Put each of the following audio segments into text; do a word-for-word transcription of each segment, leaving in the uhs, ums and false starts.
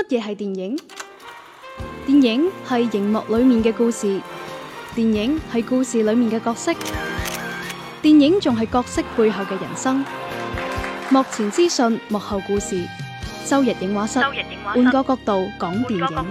嘢係電影？電影係熒幕裏面嘅故事，電影係故事裏面嘅角色，電影仲係角色背後嘅人生。幕前資訊，幕後故事。周日映畫室，換個角度講電影。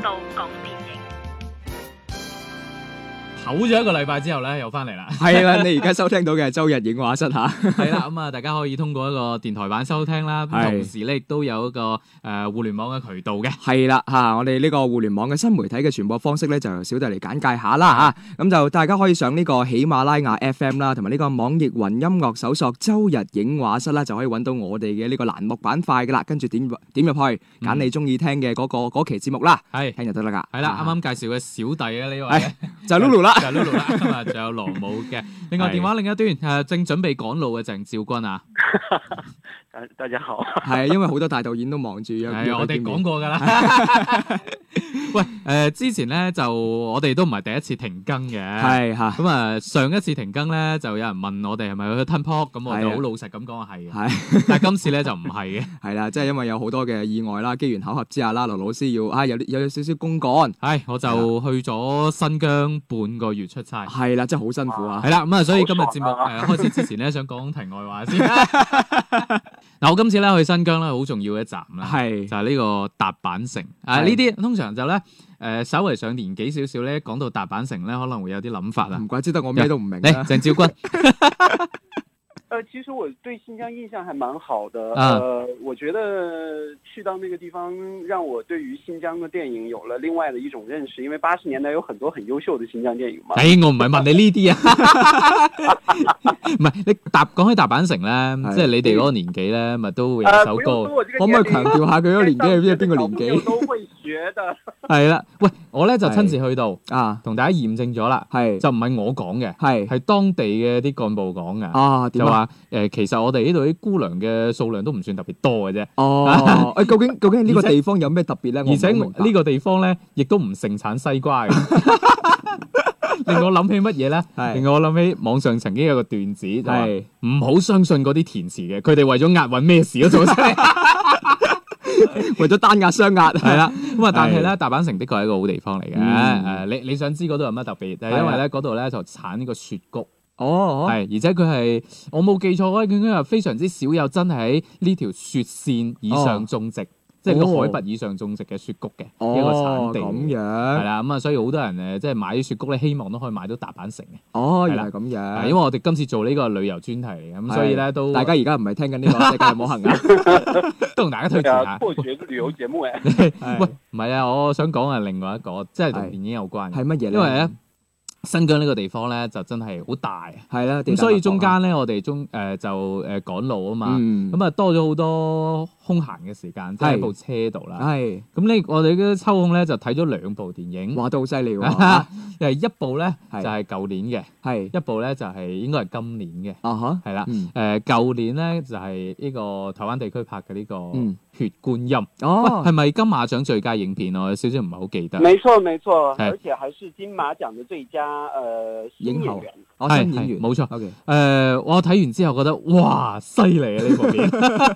唞咗一個禮拜之後咧，又翻嚟啦。 係啦，你而家收聽到嘅係周日映畫室吓。 係啦，咁啊，大家可以通過一個電台版收聽啦。咁同時咧，亦都有一個誒、呃、互聯網嘅渠道嘅。 係啦吓，我哋呢個互聯網嘅新媒體嘅傳播方式咧，就由小弟嚟簡介下啦吓。咁就大家可以上呢個喜馬拉雅 F M 啦，同埋呢個網易雲音樂搜索周日映畫室啦，就可以揾到我哋嘅呢個欄目板塊噶啦。跟住點點入去，揀你中意聽嘅嗰、嗰個嗰期節目啦，係聽就得啦噶。 係啦，啱啱介紹嘅小弟啊呢位就係 Lulu 啦。 就 Lulu 啦，今日仲有羅姆嘅。另外電話另一端誒，正準備趕路嘅鄭兆君啊。 大家好。 係因為好多大導演都忙住約。 係我哋講過㗎啦。喂，誒、呃、之前咧就我哋都唔係第一次停更嘅。係嚇。咁啊上一次停更咧就有人問我哋係咪去吞泡，咁我哋好老實咁講係嘅。係。但係今次咧就唔係嘅。係啦，即係因為有好多嘅意外啦，機緣巧合之下啦，羅老師要啊有有少少公幹。係，我就去咗新疆半個月出差。係啦，真係好辛苦啊。係啦，咁啊，所以今日節目誒、呃、開始之前咧，想講題外話先。嗱，我今次咧去新疆咧，好重要嘅一站啦，係就係、是、呢個達坂城。啊，呢啲通常就咧誒、呃，稍微上年紀少少咧，講到達坂城咧，可能會有啲諗法啦。唔怪之得我咩都唔明。誒，鄭兆君。 呃，其實我對新疆印象還蠻好的。呃，我覺得去到那個地方，讓我對於新疆的電影有了另外的一種認識。因為八十年代有很多很優秀的新疆電影嘛。 誒，我唔係問你呢啲啊。唔係，你達講起達坂城咧，即係你哋嗰個年紀咧，咪都會有首歌。可唔可以強調下佢嗰個年紀係邊邊個年紀？ 都會學的。 係啦，喂，我咧就親自去到啊，同大家驗證咗啦。係就唔係我講嘅，係係當地嘅啲幹部講嘅。啊，點啊？誒，其實我哋呢度啲姑娘嘅數量都唔算特別多嘅啫。哦，誒，究竟究竟呢個地方有咩特別咧？而且呢個地方咧，亦都唔盛產西瓜嘅。令我諗起乜嘢咧？令我諗起網上曾經有個段子，就係唔好相信嗰啲填詞嘅，佢哋為咗押韻咩事都做出嚟，為咗單押雙押。係啦，咁啊，但係咧，達坂城的確係一個好地方嚟嘅。誒、嗯，你你想知嗰度有乜特別？就係因為咧，嗰度咧就產呢個雪菊。哦，係，而且佢係我冇記錯咧，佢應該係非常之少有真係喺呢條雪線以上種植，哦、即係個海拔以上種植嘅雪菊嘅、哦、一個產地。咁樣係啦，咁啊，所以好多人誒，即係買啲雪菊咧，希望都可以買到達坂城嘅。哦，原來係咁樣。因為我哋今次做呢個旅遊專題嚟嘅，咁所以咧都大家而家唔係聽緊呢個世界冇行啊，都同大家推薦下。 破學旅遊節目誒。 喂，唔係啊，我想講係另外一個，即係同電影有關嘅。係乜嘢咧？因為咧。新疆呢個地方咧就真係好大，係啦，咁所以中間咧我哋中誒、呃、就誒趕路啊嘛，咁啊、嗯、多咗好多空閒嘅時間，即係喺部車度啦。係咁呢，我哋嘅抽空咧就睇咗兩部電影，哇都好犀利喎！誒一部咧就係舊年嘅，係一部咧就係應該係今年嘅，啊哈，係啦，誒舊年咧就係呢個台灣地區拍嘅呢個《血觀音》。哦，係咪金馬獎最佳影片？我有少少唔係好記得。 沒錯沒錯，而且還是金馬獎嘅最佳。誒，新演員， 哦，新演員，冇錯。誒、呃，我睇完之後覺得，哇，犀利啊！呢部片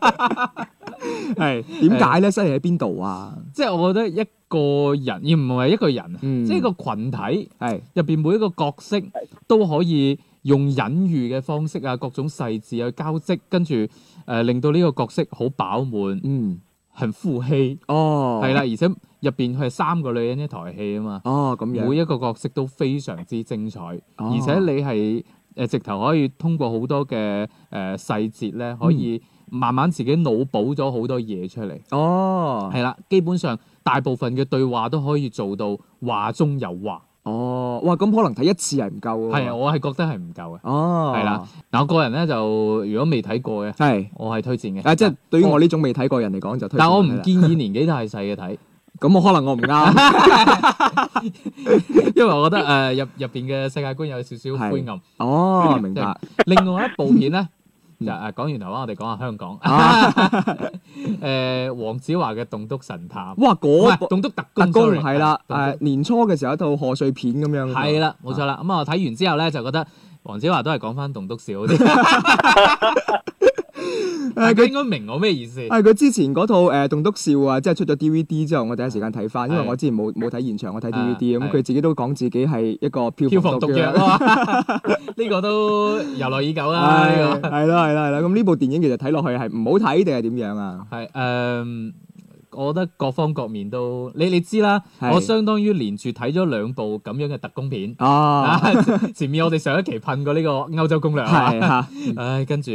係點解咧？犀利喺邊度啊？即係我覺得一個人，而唔係一個人，嗯、即係一個群體，係入邊每一個角色都可以用隱喻嘅方式啊，各種細緻去交織，跟住誒、呃、令到呢個角色好飽滿，嗯，很富氣，哦，係啦，而且。入邊佢係三個女人一台戲啊嘛，哦咁樣，每一個角色都非常之精彩，哦、而且你係誒、呃、直頭可以通過好多嘅誒、呃、細節咧，可以慢慢自己腦補咗好多嘢出嚟。哦，係啦，基本上大部分嘅對話都可以做到話中有話。哦，哇，咁可能睇一次係唔夠喎。係啊，我係覺得係唔夠嘅。哦，係啦，嗱，我個人咧就如果未睇過嘅，係我係推薦嘅。啊，即係對於我呢種未睇過人嚟講就推薦。但係我唔建議年紀太細嘅睇。咁我可能我唔啱，因為我覺得誒入入邊嘅世界觀有少少灰暗。哦，明白。另外一部片咧，就誒講完台灣，我哋講下香港。誒，黃子華嘅《棟篤神探》。哇，嗰部《棟篤特工》係啦，誒年初嘅時候一套賀歲片咁樣。係啦，冇錯啦。咁啊睇完之後咧，就覺得黃子華都係講翻棟篤笑啲。 大家應該明我咩意思。 係佢之前嗰套誒《棟篤笑》啊，即係出咗 D V D 之後，我第一時間睇翻，因為我之前冇冇睇現場，我睇 D V D，咁佢自己都講自己係一個票房毒藥咯。 呢個都由來已久啦。呢個係啦係啦係啦。咁呢部電影其實睇落去係唔好睇定係點樣啊？ 係誒。我覺得各方各面都，你你知啦，我相當於連住睇咗兩部咁樣嘅特工片。哦，前面我哋上一期噴過呢個歐洲攻略啊，唉，跟住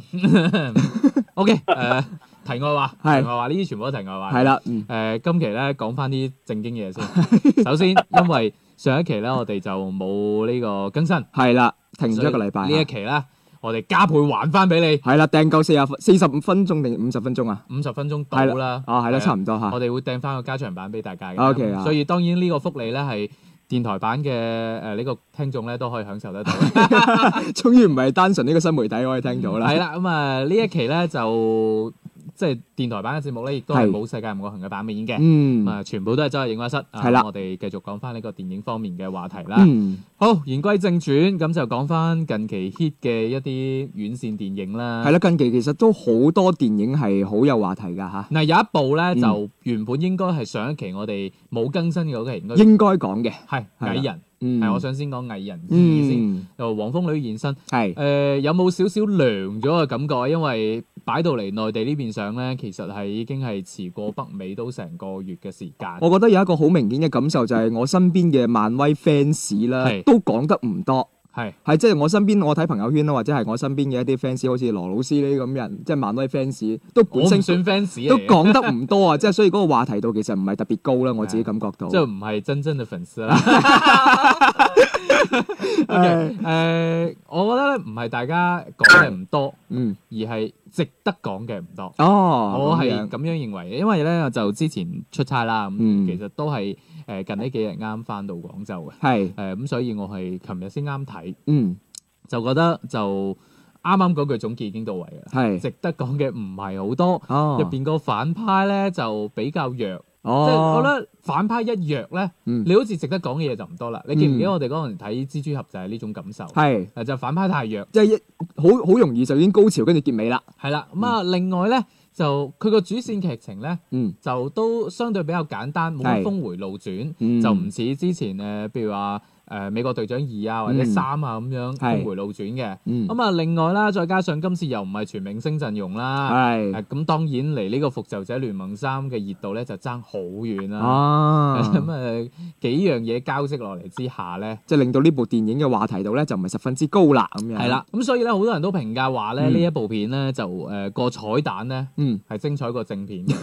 ，OK，誒，題外話，題外話，呢啲全部都題外話。係啦，誒，今期咧講翻啲正經嘢先。首先，因為上一期咧我哋就冇呢個更新，係啦，停咗一個禮拜。呢一期咧。我哋加倍還翻俾你，係啦，訂夠四十四十五分鐘定五十分鐘啊？五十分鐘到啦，啊係啦，差唔多嚇。我哋會訂翻個加長版俾大家嘅。O K 啊，所以當然呢個福利咧係電台版嘅誒呢個聽眾咧都可以享受得到。終於唔係單純呢個新媒體可以聽到啦。係啦，咁啊呢一期咧就。即係電台版嘅節目咧，亦都係冇世界唔過行嘅版面嘅，咁啊、嗯、全部都係周日映畫室。係啦、啊，我哋繼續講翻呢個電影方面嘅話題啦。嗯、好，言歸正傳，咁就講翻近期 hit 嘅一啲院線電影啦。係啦，近期其實都好多電影係好有話題㗎嚇。嗱、啊、有一部咧、嗯、就原本應該係上一期我哋冇更新嘅嗰期應該應該講嘅係蟻人。嗯，係我想先講蟻人二先，由黃蜂女現身，係誒有冇少少涼咗嘅感覺啊？因為擺到嚟內地呢邊上咧，其實係已經係遲過北美都成個月嘅時間。我覺得有一個好明顯嘅感受就係我身邊嘅漫威 fans 啦，都講得唔多。係係即係我身邊，我睇朋友圈啦，或者係我身邊嘅一啲 fans，好似羅老師呢啲咁人，即係漫威 fans，都本身算 fans，都講得唔多啊！即係所以嗰個話題度其實唔係特別高啦，我自己感覺到。即係唔係真正嘅粉絲啦。OK，誒，我覺得咧唔係大家講嘅唔多，嗯，而係值得講嘅唔多。哦，我係咁樣認為嘅，因為咧就之前出差啦，咁其實都係。誒近呢幾日啱翻到廣州嘅，係誒咁，所以我係琴日先啱睇，嗯，就覺得就啱啱嗰句總結已經到位啦，係值得講嘅唔係好多，哦，入邊個反派咧就比較弱，哦，即係我覺得反派一弱咧，嗯，你好似值得講嘅嘢就唔多啦。你記唔記得我哋嗰陣睇蜘蛛俠就係呢種感受？係誒就反派太弱，即係一好好容易就已經高潮跟住結尾啦。係啦，咁啊另外咧。就佢個主線劇情咧，嗯、就都相對比較簡單，冇乜峰迴路轉，嗯、就唔似之前誒，譬、呃、如話誒、呃、美國隊長二啊或者三啊咁樣峰迴路轉嘅。咁啊、嗯嗯，另外啦，再加上今次又唔係全明星陣容啦，咁、呃、當然離呢個復仇者聯盟三嘅熱度咧就爭好遠啦。咁啊、嗯呃、幾樣嘢交織落嚟之下咧，即係令到呢部電影嘅話題度咧就唔係十分之高啦咁樣。係啦，咁所以咧好多人都評價話咧呢、嗯、一部片咧就誒個、呃、彩蛋咧。嗯，係精彩過正片嘅，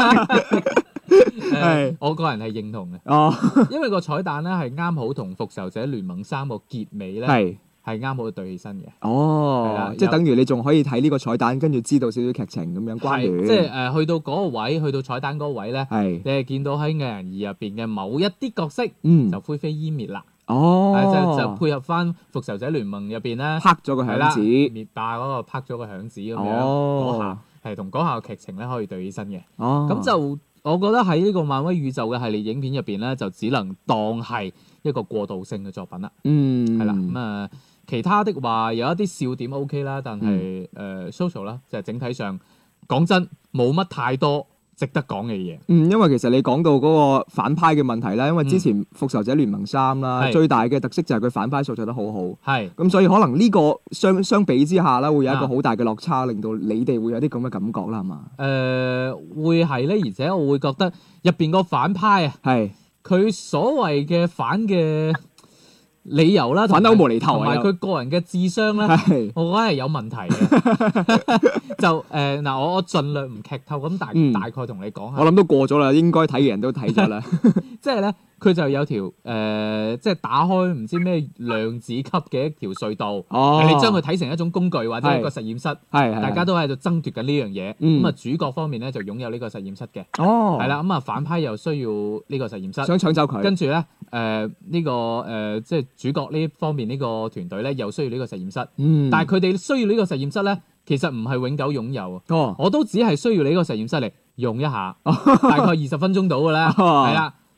係我個人係認同嘅。哦，因為個彩蛋咧係啱好同復仇者聯盟三個結尾咧係係啱好對起身嘅。哦，係啦，即係等於你仲可以睇呢個彩蛋，跟住知道少少劇情咁樣關聯。即係誒、呃，去到嗰個位，去到彩蛋嗰個位咧，係你係見到喺蟻人二入邊嘅某一啲角色，嗯，就灰飛煙滅啦。哦，就就配合翻復仇者聯盟入邊咧，拍咗個響指，滅霸嗰個拍咗個響指咁樣。哦。係同嗰下劇情咧可以對起身嘅，咁、哦、就我覺得喺呢個漫威宇宙嘅系列影片入邊咧，就只能當係一個過渡性嘅作品啦。嗯，係啦，咁、嗯、啊，其他的話有一啲笑點 OK 啦，但係誒 social 啦，就係、是、整體上講真冇乜太多值得講嘅嘢。嗯，因為其實你講到嗰個反派嘅問題啦，因為之前復仇者聯盟三啦，嗯、最大嘅特色就係佢反派塑造得好好。係，咁所以可能呢個相相比之下啦，會有一個好大嘅落差，令到你哋會有啲咁嘅感覺啦，係嘛？誒、呃，會係咧，而且我會覺得入邊個反派啊，係佢所謂嘅反嘅理由啦，反得好無厘頭，同埋佢個人嘅智商咧，是我覺得係有問題嘅。就誒嗱、呃，我我盡量唔劇透咁大、嗯、大概同你講下。我諗都過咗啦，應該睇嘅人都睇咗啦。即係咧，佢就有條誒、呃，即係打開唔知咩量子級嘅一條隧道。哦，你將佢睇成一種工具或者一個實驗室，係大家都喺度爭奪緊呢樣嘢。咁啊、嗯，主角方面咧就擁有呢個實驗室嘅。哦，係啦，咁啊反派又需要呢個實驗室，想搶走佢。跟住咧，誒、呃、呢、呢個誒、呃、即係主角呢方面呢個團隊咧又需要呢個實驗室。嗯，但係佢哋需要呢個實驗室咧，其實唔係永久擁有。哦，我都只係需要你呢個實驗室嚟用一下，大概二十分鐘到嘅咧，係啦。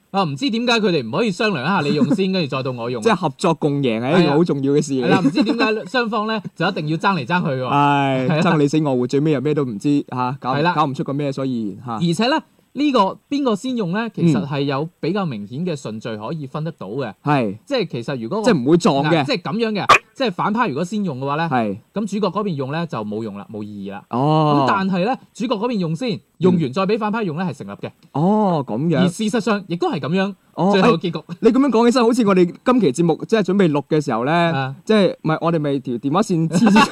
啊，唔知點解佢哋唔可以商量一下你用先，跟住再到我用。 即係合作共贏係一個好重要嘅事嚟。 係啦，唔知點解雙方咧就一定要爭嚟爭去喎。 係爭你死我活，最尾又咩都唔知嚇，搞係啦搞唔出個咩所以然嚇。 而且咧。呢、這個邊個先用咧？其實係有比較明顯嘅順序可以分得到嘅。係、嗯，即係其實如果即係唔會撞嘅， 即係咁樣嘅。即係反派如果先用嘅話咧，係咁主角嗰邊用咧就冇用啦，冇意義啦。哦，咁但係咧主角嗰邊用先，用完再俾反派用咧係成立嘅。哦，咁樣。而事實上亦都係咁樣。哦，最後結局。你咁樣講起身，好似我哋今期節目即係準備錄嘅時候咧，啊、即係唔係我哋咪條電話線黐住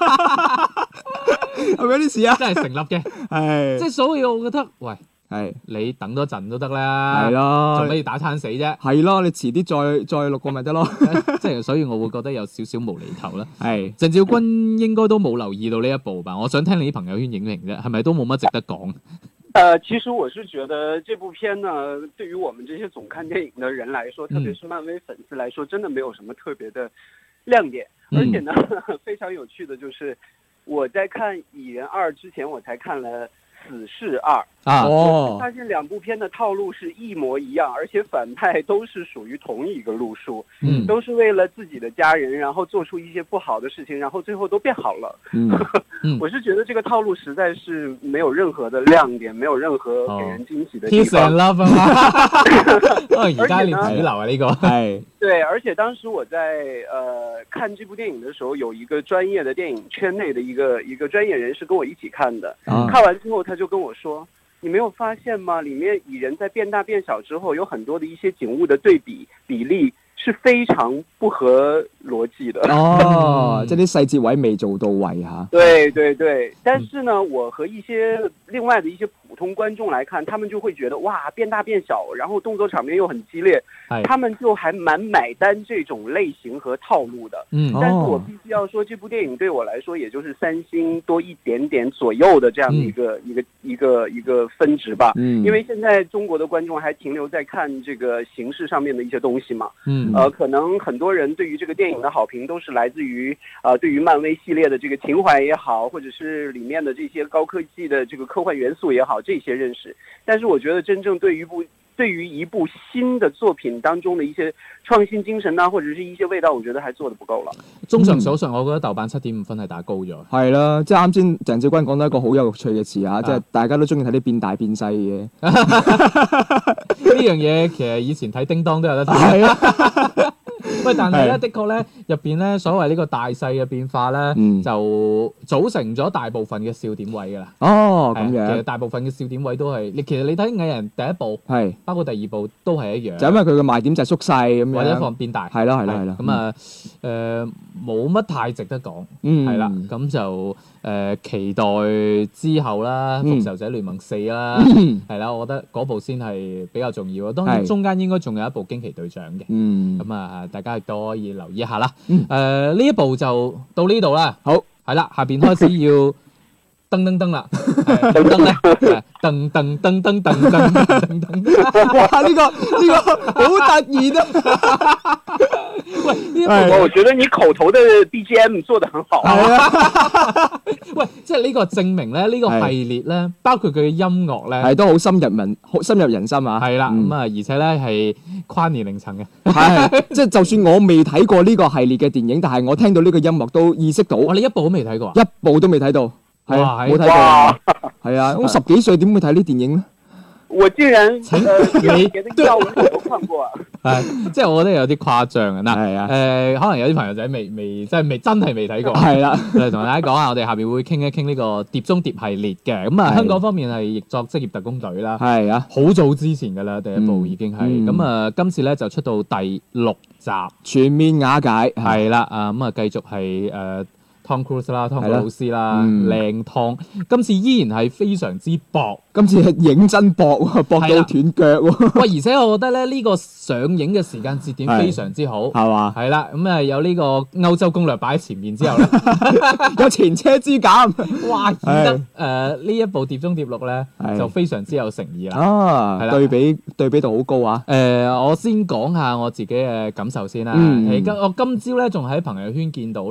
係咪有啲事啊？真係成立嘅。係。即係所以我覺得，喂。係，你等多陣都得啦，係咯，做咩要打餐死啫？係咯，你遲啲再再錄過咪得咯。即係所以我會覺得有少少無厘頭啦。係，鄭少君應該都冇留意到呢一部吧？我想聽你啲朋友圈影評啫，係咪都冇乜值得講？ 呃，其實我是覺得這部片呢，對於我們這些總看電影的人來說，特別是漫威粉絲來說，真的沒有什麼特別的亮點。而且呢，非常有趣的就是我在看《蟻人二》之前，我才看了死侍二啊，我發現兩部片的套路是一模一樣，而且反派都是屬於同一個路數，嗯，都是為了自己的家人，然後做出一些不好的事情，然後最後都變好了。嗯，我是覺得這個套路實在是沒有任何的亮點，沒有任何給人驚喜的地方。Peace and love 啊，而家連主流啊呢個係對，而且當時我在呃看這部電影的時候，有一個專業的電影圈內的一個一個專業人士跟我一起看的，啊，看完之後他就跟我說，你沒有發現嗎？裡面蟻人在變大變小之後，有很多的一些景物的對比比例是非常不合邏輯的。哦，這啲細節位未做到位哈。對對對，但是呢，我和一些另外的一些普通觀眾來看，他們就會覺得哇，變大變小，然後動作場面又很激烈，他們就還蠻買單這種類型和套路的。嗯，但是我必須要說，這部電影對我來說，也就是三星多一點點左右的這樣的一個、嗯、一個一個一個分值吧。嗯，因為現在中國的觀眾還停留在看這個形式上面的一些東西嘛。嗯，呃，可能很多人對於這個電影的好評都是來自於呃對於漫威系列的這個情懷也好，或者是裡面的這些高科技的這個科幻元素也好，這些認識。但是我覺得真正對於部對於一部新的作品當中的一些創新精神啊，或者是一些味道，我覺得還做得不夠了。綜上所述，我覺得豆瓣七點五分係打高咗。係啦，即係啱先鄭少君講到一個好有趣嘅詞啊，即係大家都中意睇啲變大變細嘅。呢樣嘢其實以前睇叮當都有得睇。係啊。喂，但係咧，的確咧，入邊咧，所謂呢個大細嘅變化咧，嗯、就組成咗大部分嘅笑點位噶啦。哦，咁樣。其實大部分嘅笑點位都係，你其實你睇蟻人第一部，係包括第二部都係一樣。就因為佢嘅賣點就係縮細咁樣，或者放變大。係啦，係啦，係啦。咁啊，誒，冇乜太值得講。嗯。係啦，咁就誒、呃、期待之後啦，《復仇者聯盟四》啦，係、嗯、啦，我覺得嗰部先係比較重要。當然中間應該仲有一部驚奇隊長嘅。嗯。咁啊。大家亦都可以留意一下啦。誒、嗯，呢、呃、一部就到呢度啦。好，係啦，下邊開始要噔噔噔啦。噔噔咧，噔噔噔噔噔噔噔噔。哇！呢、這個呢、這個好突然啊！喂，呢部我覺得你口頭的 B G M 做得很好。係啊。喂，即係呢個證明咧，呢、這個系列咧，包括佢嘅音樂咧，係都好深入民，好深入人心啊。係啦，咁啊、嗯，而且咧係跨年齡層嘅。係，即係就算我未睇過呢個系列嘅電影，但係我聽到呢個音樂都意識到。哇！你一部都未睇過啊？一部都未睇到。係啊，冇睇過。係啊，咁十幾歲點會睇呢電影咧？我竟然誒，你嘅啲優我都看過啊！係，即係我覺得有啲誇張啊！嗱，係啊，誒，可能有啲朋友仔未未，即係未真係未睇過。係啦，嚟同大家講下，我哋下邊會傾一傾呢個碟中諜系列嘅。咁啊，香港方面係譯作職業特工隊啦。係啊，好早之前㗎啦，第一部已經係。咁啊，今次咧就出到第六集，全面瓦解。係啦，啊咁啊，繼續係誒。Tom Cruise 啦，湯哥老師啦，靚湯、嗯，今次依然係非常之薄，今次係認真薄，薄到斷腳喎。喂，而且我覺得咧，呢、這個上映嘅時間節點非常之好，係嘛？係啦，咁啊有呢個歐洲攻略擺喺前面之後咧，有前車之鑑，哇！顯得誒呢、呃、一部碟中諜六咧就非常之有誠意啦。啊，係對比對比度好高啊！誒、呃，我先講下我自己嘅感受先啦。嗯，我今朝咧仲喺朋友圈見到咧。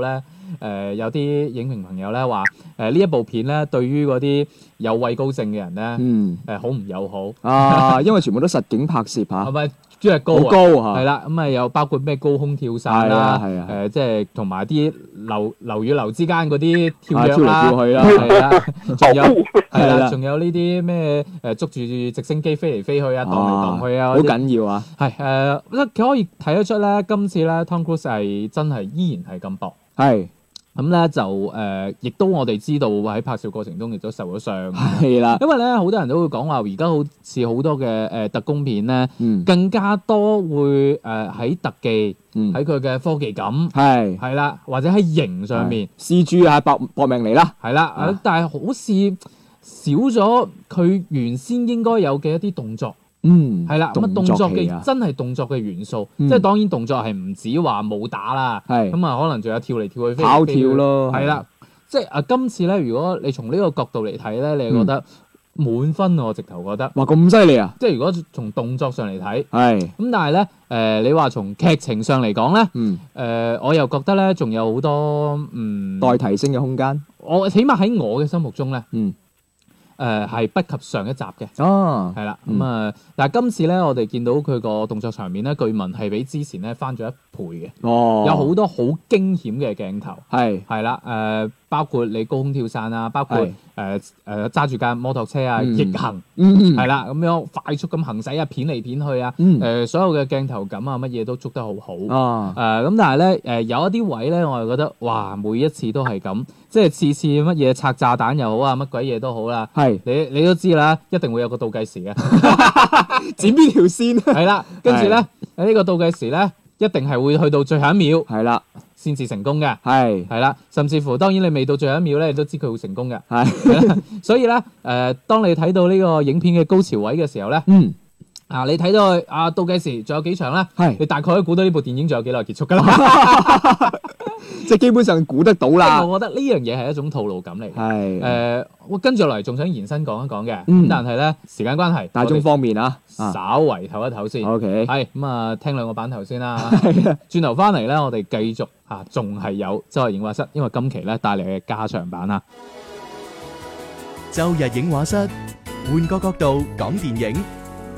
呃、有啲影評朋友咧話誒呢一部片咧對於嗰啲有畏高症嘅人咧， 嗯誒好唔友好啊，因為全部都實景拍攝嚇， 係咪？主要係高好高啊， 係啦，咁啊又包括咩高空跳傘啦， 係啊， 誒即係同埋啲樓樓與樓之間嗰啲跳躍跳嚟跳去啦， 係啦，仲有係啦，仲有呢啲咩誒捉住直升機飛嚟飛去啊，蕩嚟蕩去啊， 好緊要啊！ 係誒，佢可以睇得出咧，今次咧 Tom Cruise 係真係依然係咁薄， 係。 咁咧就誒，亦、呃、都我哋知道喺拍攝過程中亦都受咗傷。 係啦， 因為咧好多人都會講話，而家好似好多嘅誒、呃、特工片咧， 嗯、 更加多會誒喺、呃、特技，喺佢嘅科技感，係係啦，或者喺型上面 C G 啊搏搏命嚟啦， 係啦，啊、但係好似少咗佢原先應該有嘅一啲動作。嗯，係啦，咁啊動作嘅真係動作嘅元素，嗯、即係當然動作係唔止話武打啦，係咁啊，可能仲有跳嚟跳去飛跑跳咯， 係啦，即係啊今次咧，如果你從呢個角度嚟睇咧，你係覺得滿分，我直頭覺得， 哇咁犀利啊！ 即係如果從動作上嚟睇， 係咁，但係咧誒，你話從劇情上嚟講咧，嗯，誒、呃，我又覺得咧仲有好多嗯待提升嘅空間， 我起碼喺我嘅心目中咧， 嗯。 誒係、呃、不及上一集嘅， 哦， 係啦，咁啊、嗯，但係今次咧，我哋見到佢個動作場面咧，據聞係比之前咧翻咗一倍嘅，哦，有好多好驚險嘅鏡頭，係係啦，誒、呃、包括你高空跳傘啊，包括誒誒揸住架摩托車啊，逆行，係啦、嗯，咁樣快速咁行駛啊，片嚟片去啊，誒、嗯呃、所有嘅鏡頭感啊，乜嘢都捉得好好，哦，誒咁、呃，但係咧誒有一啲位咧，我係覺得哇，每一次都係咁，即係次次乜嘢拆炸彈又好啊，乜鬼嘢都好啦。係你你都知啦，一定會有個倒計時嘅， 剪邊條線？ 係啦，跟住咧喺呢個倒計時咧，一定係會去到最後一秒， 係啦， 先至成功嘅， 係係啦，甚至乎當然你未到最後一秒咧，你都知佢會成功嘅，係，所以咧誒、呃，當你睇到呢個影片嘅高潮位嘅時候咧，嗯。啊！你睇到啊倒計時仲有幾長咧？係你大概可以估到呢部電影仲有幾耐結束㗎啦， 即係基本上估得到啦。 我覺得呢樣嘢係一種套路感嚟嘅。係誒、呃，我跟住落嚟仲想延伸講一講嘅，咁、嗯、但係咧時間關係， 大眾方面啊， 稍為唞一唞先。OK，係咁啊，聽兩個版頭先啦。轉頭翻嚟咧，我哋繼續啊，仲係有周日映畫室，因為今期咧帶嚟嘅加長版啊。 周日映畫室，換個角度講電影。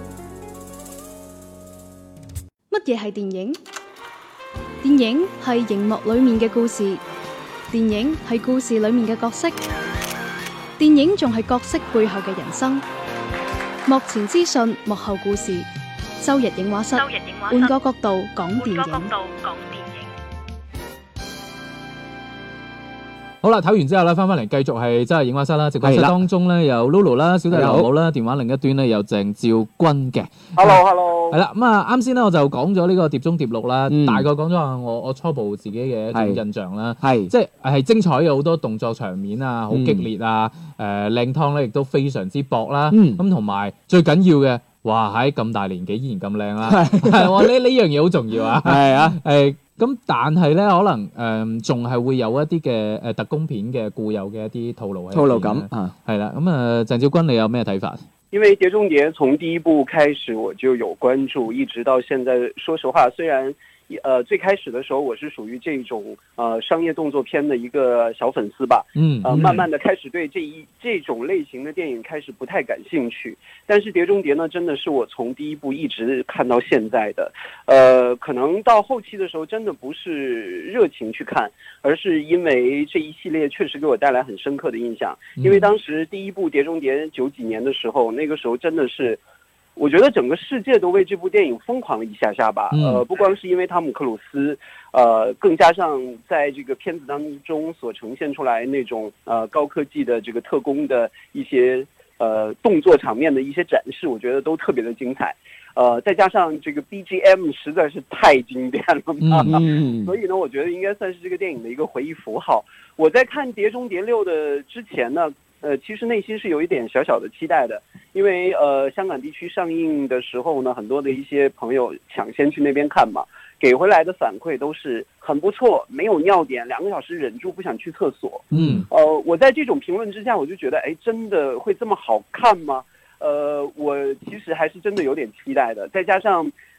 乜嘢係電影？電影係熒幕裏面嘅故事，電影係故事裏面嘅角色，電影仲係角色背後嘅人生。幕前資訊，幕後故事。周日映畫室，換個角度講電影。 好啦，睇完之後咧，翻翻嚟繼續係周日映畫室啦。直播室當中咧有 Lulu 啦，小弟劉武啦，電話另一端咧有鄭照君嘅。 Hello，Hello。 係啦，咁啊，啱先咧我就講咗呢個碟中諜錄啦，嗯、大概講咗下我我初步自己嘅一種印象啦。係，即係係精彩嘅好多動作場面啊，好激烈啊，誒靚湯咧亦都非常之薄啦。咁同埋最緊要嘅，哇喺咁大年紀依然咁靚啦，係我呢呢樣嘢好重要啊。係啊，誒。咁但係咧，可能誒仲係會有一啲嘅誒特工片嘅固有嘅一啲套路喺套路感啊，係啦。咁啊，鄭照君你有咩睇法？ 因為《碟中諜》從第一部開始我就有關注，一直到現在。說實話，雖然呃最開始的時候我是屬於這種呃商業動作片的一個小粉絲吧，嗯，呃慢慢的開始對這一這種類型的電影開始不太感興趣。但是《碟中諜》呢，真的是我從第一部一直看到現在的，呃，可能到後期的時候，真的不是熱情去看，而是因為這一系列確實給我帶來很深刻的印象。因為當時第一部《碟中諜》九幾年的時候，那個時候真的是。我覺得整個世界都為這部電影瘋狂了一下下吧，呃，不光是因為湯姆克魯斯，呃，更加上在這個片子當中所呈現出來那種呃高科技的這個特工的一些呃動作場面的一些展示，我覺得都特別的精彩，呃，再加上這個 B G M 實在是太經典了嘛，嗯、所以呢，我覺得應該算是這個電影的一個回憶符號。我在看《碟中諜六》的之前呢，呃，其實內心是有一點小小的期待的，因為呃香港地區上映的時候呢，很多的一些朋友搶先去那邊看嘛，給回來的反饋都是很不錯，沒有尿點，兩個小時忍住不想去廁所。嗯，呃，我在這種評論之下，我就覺得，哎，真的會這麼好看嗎？呃，我其實還是真的有點期待的，再加上。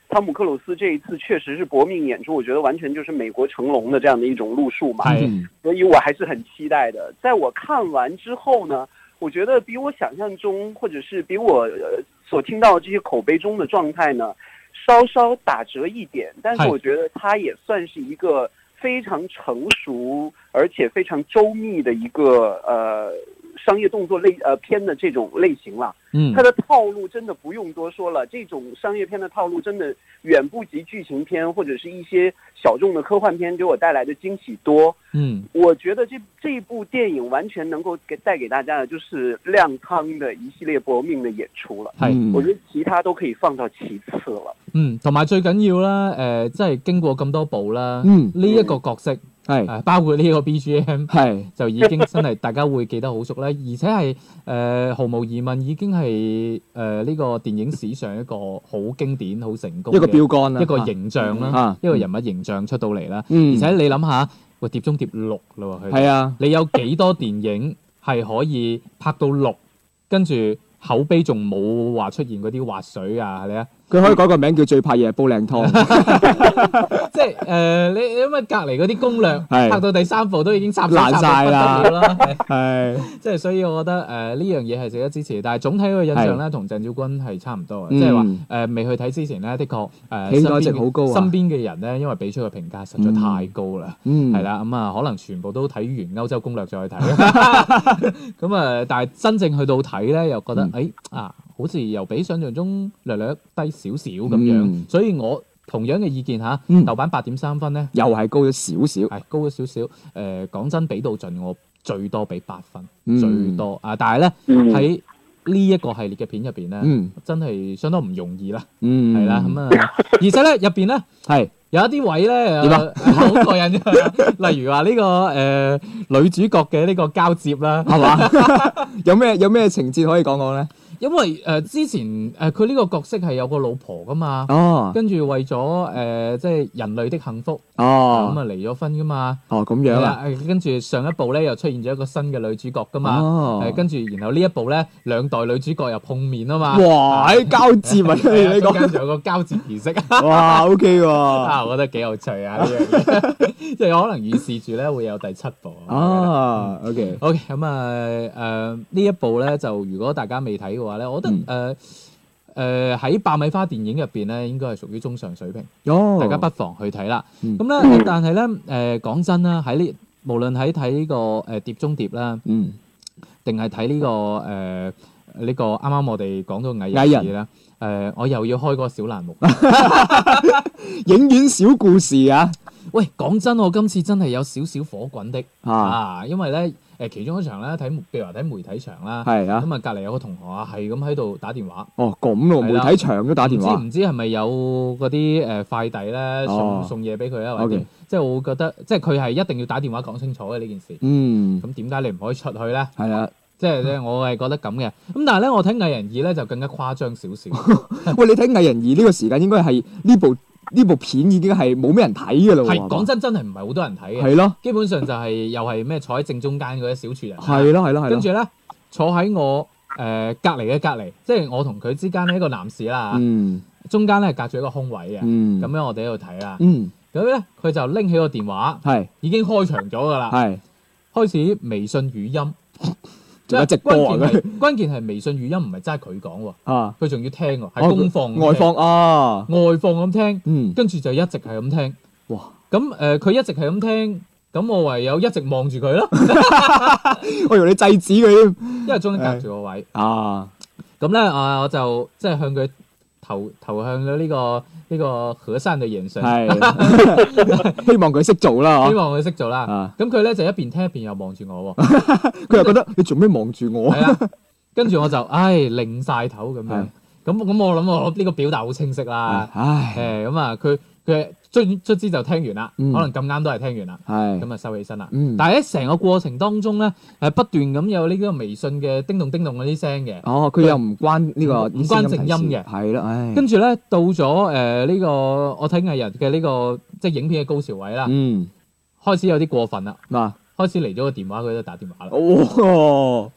湯姆克魯斯這一次確實是搏命演出，我覺得完全就是美國成龍的這樣的一種路數嘛，所以我還是很期待的。在我看完之後呢，我覺得比我想象中，或者是比我、呃、所聽到的這些口碑中的狀態呢，稍稍打折一點，但是我覺得它也算是一個非常成熟而且非常周密的一個呃商業動作類呃片的這種類型啦。嗯，它的套路真的不用多說了，這種商業片的套路真的遠不及劇情片或者是一些小眾的科幻片給我帶來的驚喜多。嗯，我覺得這這一部電影完全能夠給帶給大家的就是亮湯的一系列搏命的演出了。係，我覺得其他都可以放到其次了。嗯， 同埋最緊要啦，誒、呃，即係經過咁多部啦，嗯，呢、這、一個角色。嗯係、呃，包括呢個 B G M， 係就已經真係大家會記得好熟咧，而且係誒、呃、毫無疑問已經係誒呢個電影史上一個好經典、好成功嘅一個標杆啦，一個形象啦、啊，一個人物形象出到嚟啦、嗯。而且你諗下，喂，碟中諜六咯喎，係啊，你有幾多電影係可以拍到六，跟住口碑仲冇話出現嗰啲滑水啊？係咪啊？佢可以改個名叫最怕夜煲靚湯，即係誒、呃、你因為隔離嗰啲攻略拍到第三部都已經插爛曬啦，係即係所以我覺得誒呢樣嘢係值得支持，但係總體個印象咧同鄭少君係差唔多嘅，即係話誒未去睇之前咧，的確誒、呃、身邊好高、啊、身邊嘅人咧，因為俾出嘅評價實在太高啦，係啦咁啊可能全部都睇完歐洲攻略再去睇，咁啊但係真正去到睇咧又覺得誒、嗯哎、啊好似又比想象中略略低少少咁樣、嗯，所以我同樣嘅意見嚇、嗯，豆瓣八點三分咧，又係高咗少少，係高咗少少。誒、呃，講真，比到盡我最多俾八分、嗯，最多啊！但係咧喺呢一個系列嘅片入邊咧，真係相當唔容易啦，係、嗯、啦咁啊！而且咧入邊咧係有一啲位咧點啊，好過癮嘅，例如話呢、這個誒、呃、女主角嘅呢個交接啦，係嘛？有咩有咩情節可以講講咧？因為誒、呃、之前誒佢呢個角色係有個老婆噶嘛，哦，跟住為咗誒、呃、即係人類的幸福，哦，咁啊離咗婚噶嘛，哦咁樣啦，跟住上一部咧又出現咗一個新嘅女主角噶嘛，哦，誒跟住然後呢一部咧兩代女主角又碰面啊嘛，哇，喺交接啊，你講跟住有個交接儀式，哇 ，OK 喎，啊，我覺得幾有趣啊呢樣嘢，即係可能預示住咧會有第七部，哦 ，OK，OK， 咁啊誒呢一部咧就如果大家未睇嘅話，話咧，我覺得誒誒喺爆米花電影入邊咧，應該係屬於中上水平。哦，大家不妨去睇啦。咁、嗯、咧、嗯，但係咧誒講真啦，喺呢無論喺睇呢個誒碟中諜啦，嗯，定係睇呢個誒呢、呃這個啱啱我哋講到藝人啦，誒、呃、我又要開個小欄目，影院小故事啊！喂，講真，我今次真係有少少火滾的啊，啊，因為咧。誒其中一場咧睇，譬如話睇媒體場啦，係啊，咁啊隔離有個同學啊，係咁喺度打電話。哦，咁咯，媒體場都打電話。唔知唔知係咪有嗰啲誒快遞咧送、哦、送嘢俾佢啊？或者、okay. 即係我會覺得，即係佢係一定要打電話講清楚嘅呢件事。嗯。咁點解你唔可以出去咧？係啊。即係咧，我係覺得咁嘅。咁但係咧，我睇藝人二咧就更加誇張少少。喂，你睇藝人二呢個時間應該係呢部。呢部片已經係冇咩人睇㗎啦喎！係講真，真係唔係好多人睇嘅。係咯，基本上就係、是、又係咩坐喺正中間嗰啲小廚人。係咯係咯係咯。跟住咧坐喺我誒、呃、隔離嘅隔離，即係我同佢之間呢一個男士啦、嗯、中間咧隔住一個空位嘅。咁、嗯、樣我哋喺度睇啦。咁咧佢就拎起個電話，係已經開場咗㗎啦。係開始微信語音。有直播啊！關鍵係關鍵係微信語音唔係齋佢講喎，啊，佢仲要聽喎，係公放外放啊，外放咁聽，嗯，跟住就一直係咁聽，哇！咁誒，佢、呃、一直係咁聽，咁我唯有一直望住佢咯。我以為你制止佢添，因為中間隔住個位啊。咁咧啊，我就即係向佢投投向咗呢、這個。呢、這個和善嘅眼神，係希望佢識做啦，希望佢識做啦。咁佢咧就一邊聽一邊又望住我喎，佢又覺得你做咩望住我？係啊，跟住我就唉擰晒頭咁樣。咁咁我諗我呢個表達好清晰啦。唉，誒咁啊，佢佢卒卒之就聽完啦、嗯，可能咁啱都係聽完啦。係咁啊，收起身啦、嗯。但係喺成個過程當中咧，誒不斷咁有呢個微信嘅叮咚叮咚嗰啲聲嘅。哦，佢又唔關呢、這個唔關靜音嘅。係啦，唉。跟住咧到咗誒呢個我睇藝人嘅呢、這個即係影片嘅高潮位啦。嗯。開始有啲過分啦。嗱、啊，開始嚟咗個電話，佢都打電話啦。哦。哇！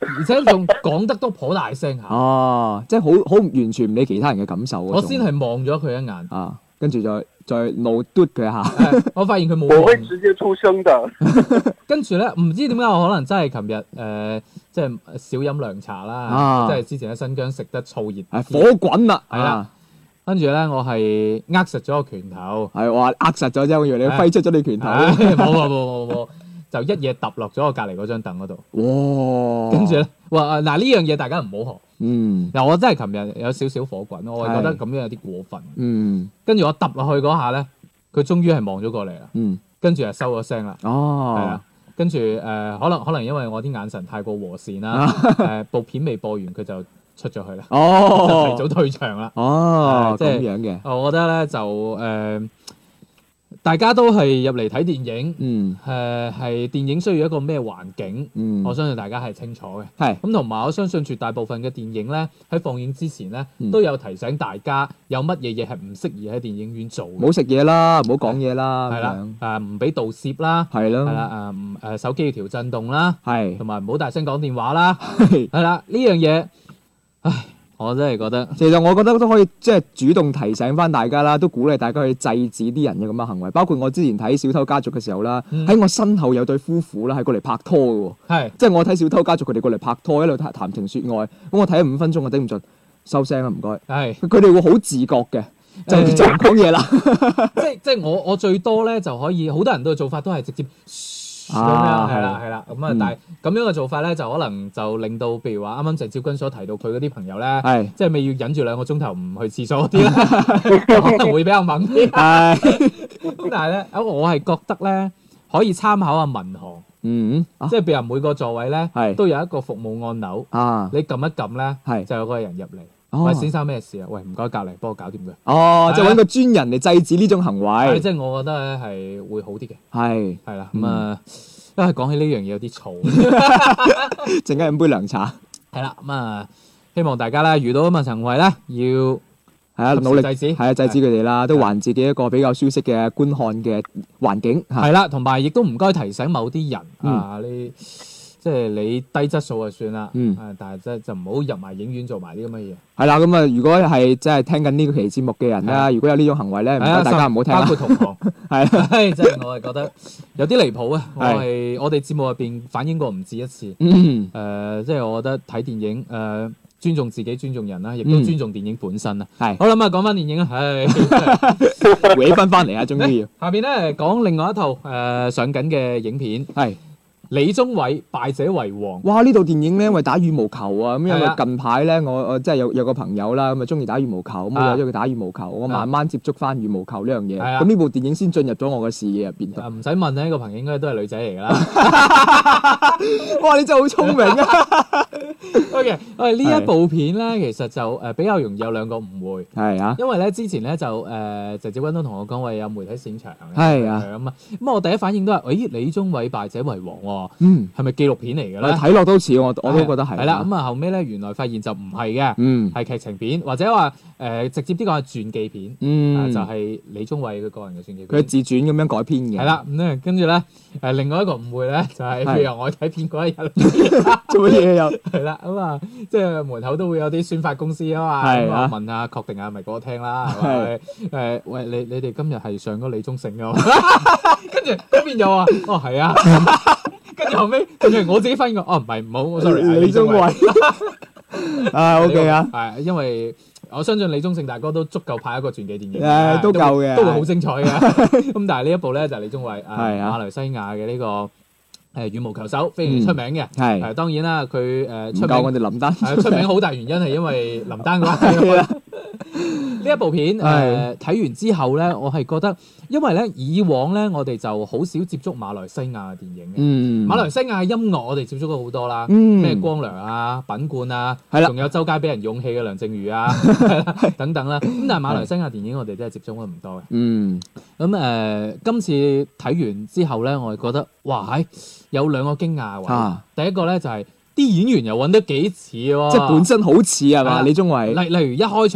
而且仲講得都頗大聲下。 哦，即係好好完全唔理其他人嘅感受嗰種。 我先係望咗佢一眼， 啊，跟住再再怒嘟佢一下。 我發現佢冇。 我會直接出聲的。 跟住咧，唔知點解我可能真係琴日誒，即係少飲涼茶啦， 啊即係之前喺新疆食得燥熱， 係火滾啦， 係啦。跟住咧，我係握實咗個拳頭， 係話握實咗啫，我以為你揮出咗你拳頭。 冇冇冇冇冇，就一嘢揼落咗我隔離嗰張凳嗰度。 哇！ 跟住咧，哇嗱呢樣嘢大家唔好學。 嗯。 嗱，我真係琴日有少少火滾，我係覺得咁樣有啲過分。 嗯。 跟住我揼落去嗰下咧，佢終於係望咗過嚟啦。 嗯。 跟住就收咗聲啦。 哦。 係啊。跟住誒、呃，可能可能因為我啲眼神太過和善啦，誒、呃、部片未播完佢就出咗去啦， 哦， 就提早退場啦。 哦， 即係咁樣嘅。 我覺得咧就誒、呃，大家都係入嚟睇電影， 嗯， 誒係、呃、電影需要一個咩環境， 嗯， 我相信大家係清楚嘅。 係咁同埋我相信絕大部分嘅電影咧喺放映之前咧、 嗯、 都有提醒大家有乜嘢嘢係唔適宜喺電影院做嘅。 唔好食嘢啦，唔好講嘢啦， 係啦，誒唔俾盜攝啦， 係咯， 係啦，誒誒手機要調震動啦， 係， 同埋唔好大聲講電話啦，係啦，呢樣嘢，唉。我真係覺得， 其實我覺得都可以即係主動提醒翻大家啦，都鼓勵大家去制止啲人嘅咁嘅行為。包括我之前睇《小偷家族》嘅時候啦，喺、嗯、我身後有對夫婦啦，係過嚟拍拖嘅喎。係，即係我睇《小偷家族》，佢哋過嚟拍拖，一路談談情説愛。咁我睇咗五分鐘，我頂唔順，收聲啦，唔該。係，佢哋會好自覺嘅，就、欸、就唔講嘢啦。 即係即係我我最多咧就可以，好多人都嘅做法都係直接。咁樣係啦係啦，咁啊、嗯、但係咁樣嘅做法咧，就可能就令到，譬如話啱啱鄭少君所提到佢嗰啲朋友咧，係即係咪要忍住兩個鐘頭唔去廁所嗰啲咧，可能會比較猛啲。係，咁但係咧，我係覺得咧可以參考下民航，嗯，啊、即係譬如每個座位咧都有一個服務按鈕，啊，你撳一撳咧，係就有個人入嚟。喂，先生咩事啊？喂，唔該，隔離幫我搞掂佢。哦， 就揾個專人嚟制止呢種行為。 即係我覺得咧係會好啲嘅。係係啦，咁、嗯、啊，因為講起呢樣嘢有啲嘈， 陣間飲杯涼茶。 係啦，咁啊，希望大家咧遇到咁嘅行為咧，要係啊努力制止，係啊制止佢哋啦，都還自己一個比較舒適嘅觀看嘅環境。係啦， 同埋亦都唔該提醒某啲人、嗯、啊，你。即係你低質素就算啦，嗯，但係即係就唔好入埋影院做埋啲咁嘅嘢。 係啦，咁啊，如果係即係聽緊呢個期節目嘅人啦，如果有呢種行為咧，唔該大家唔好聽啦。 包括同行，係啦，即係我係覺得有啲離譜啊！我係我哋節目入邊反映過唔止一次。嗯，誒，即係我覺得睇電影誒，尊重自己，尊重人啦，亦都尊重電影本身啊。係。好啦，咁啊，講翻電影啦，唉， 回翻翻嚟啊，終於要。 下邊咧講另外一套誒上緊嘅影片係。李宗偉敗者為王。哇！ 呢套電影咧，因為打羽毛球啊，咁因為近排咧，我我即係有有個朋友啦，咁啊中意打羽毛球，咁我約咗佢打羽毛球，我慢慢接觸翻羽毛球呢樣嘢。咁呢部電影先進入咗我嘅視野入邊。 唔使問呢個朋友應該都係女仔嚟㗎啦。 哇！你真係好聰明啊 ！OK， 喂，呢一部片咧，其實就誒比較容易有兩個誤會。係啊。因為咧之前咧就誒鄭少君都同我講話有媒體擅長嘅。係啊。咁啊，咁我第一反應都係，誒李宗偉敗者為王喎。嗯，係咪紀錄片嚟嘅咧？ 睇落都似，我我都覺得係。 係啦，咁啊後尾咧，原來發現就唔係嘅，嗯，係劇情片，或者話誒直接啲講係傳記片，嗯，就係李宗偉佢個人嘅傳記片。 佢自傳咁樣改編嘅。 係啦，咁咧跟住咧誒另外一個誤會咧，就係譬如我睇片嗰一日做乜嘢又係啦，咁啊即係門口都會有啲宣發公司啊嘛，咁啊問下確定下係咪嗰個廳啦，係咪？誒喂，你你哋今日係上咗李宗盛㗎？跟住嗰邊又話哦係啊。跟住後尾，跟住我自己發現個，哦唔係唔好，我 sorry， 李宗偉啊 OK 啊， 係因為我相信李宗盛大哥都足夠拍一個傳記電影， 誒都夠嘅， 都會好精彩嘅。咁但係呢一部咧就係李宗偉啊馬來西亞嘅呢個誒羽毛球手，非常之出名嘅。係誒當然啦，佢誒出名我哋林丹， 係出名好大原因係因為林丹嘅話。呢一部片誒睇完之後咧，我係覺得，因為咧以往咧我哋就好少接觸馬來西亞嘅電影嘅。嗯，馬來西亞嘅音樂我哋接觸咗好多啦，咩光良啊、品冠啊，係啦，仲有周街俾人勇氣嘅梁靜茹啊，等等啦。咁但係馬來西亞電影我哋真係接觸得唔多嘅。嗯，咁誒今次睇完之後咧，我係覺得哇，係有兩個驚訝位。第一個咧就係啲演員又揾得幾似喎， 即係本身好似係嘛？李宗偉， 例例如一開場。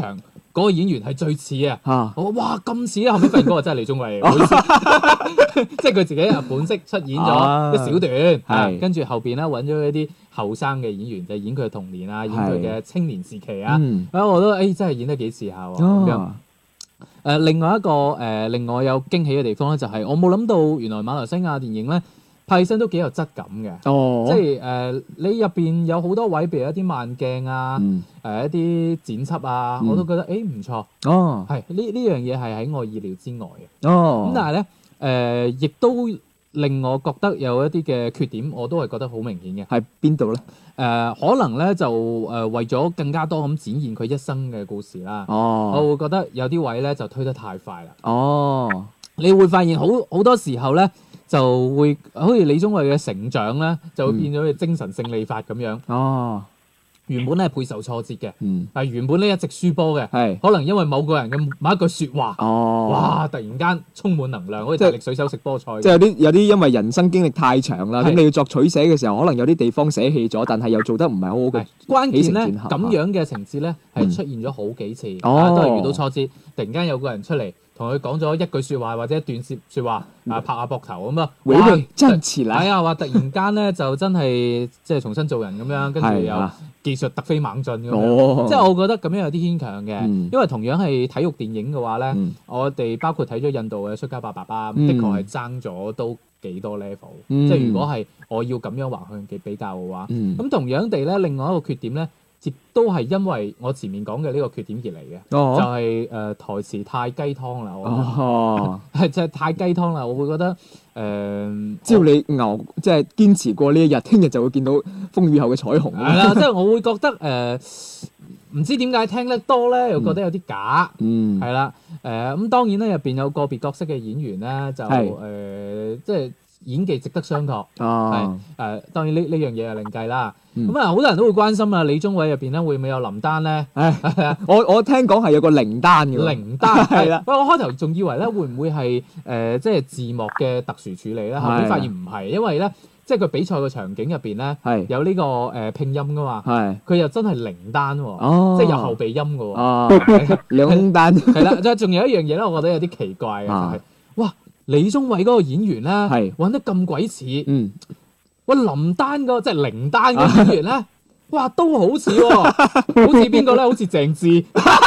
嗰個演員係最似嘅。 啊， 我哇咁似啊！後尾發現嗰個真係李宗偉，唔好意思即係佢自己本色出演咗一小段，係跟住後邊咧揾咗一啲後生嘅演員，就演佢嘅童年啊，演佢嘅青年時期啊。啊，我都誒真係演得幾似下喎咁樣。誒，另外一個誒令我有驚喜嘅地方咧，就係我冇諗到原來馬來西亞電影咧拍起身都幾有質感嘅。哦，即係誒你入邊有好多位，譬如一啲慢鏡啊，誒一啲剪輯啊，我都覺得誒唔錯。哦，係呢呢樣嘢係喺我意料之外嘅。哦，咁但係咧誒亦都令我覺得有一啲嘅缺點，我都係覺得好明顯嘅。 係邊度咧？ 誒、呃、可能咧就誒、呃、為咗更加多咁展現佢一生嘅故事啦。哦，我會覺得有啲位咧就推得太快啦。哦，你會發現好好多時候咧就會好似李宗偉嘅成長咧就會變咗佢精神勝利法咁樣。哦。原本咧係備受挫折嘅，嗯、但係原本咧一直輸波嘅，係可能因為某個人嘅某一句説話，哦、哇！突然間充滿能量，好似大力水手食波菜。 即係有啲有啲因為人生經歷太長啦，咁你要作取捨嘅時候，可能有啲地方捨棄咗，但係又做得唔係好好嘅。 關鍵咧咁樣嘅情節咧係出現咗好幾次，嗯啊、都係遇到挫折，突然間有個人出嚟。同佢講咗一句説話或者一段説説話，啊拍下膊頭咁啊， 哇！真似啦， 係啊，話突然間咧就真係即係重新做人咁樣，跟住又技術突飛猛進咁樣，哦、即係我覺得咁樣有啲牽強嘅，嗯、因為同樣係體育電影嘅話咧，嗯、我哋包括睇咗印度嘅《摔跤吧爸爸》，嗯、的確係爭咗都幾多 level，嗯、即係如果係我要咁樣橫向嘅比較嘅話，咁、嗯、同樣地咧，另外一個缺點咧。亦都係因為我前面講嘅呢個缺點而嚟嘅，哦、就係、是、誒、呃、台詞太雞湯啦，我覺得哦， 係就係太雞湯啦，我會覺得誒，呃、 只要你牛即係堅持過呢一日，聽日就會見到風雨後嘅彩虹。 係啦，即係我會覺得誒，唔、呃、知點解聽得多咧，又覺得有啲假，嗯，係啦，誒、呃、咁當然咧入邊有個別角色嘅演員咧，就誒是、呃、即係。演技值得商榷，係誒、哦呃、當然呢呢樣嘢係另計啦。咁啊、嗯，好多人都會關心啊，李宗偉入邊咧會唔會有林丹咧？唉我我聽講係有個靈丹嘅。 靈丹係啦。喂，我開頭仲以為咧會唔會係誒、呃、即係字幕嘅特殊處理咧？後面發現唔係，因為咧即係佢比賽嘅場景入邊咧係有呢、這個誒、呃、拼音噶嘛。係佢又真係靈丹喎，哦、即係有後鼻音嘅喎。哦，兩丹係啦，即係仲有一樣嘢咧，我覺得有啲奇怪嘅就係、是、哇。李宗偉嗰個演員咧，揾得咁鬼似，嗯，喂林丹個即係靈丹嗰個演員咧，哇都好似喎，好似邊個咧？好似鄭智，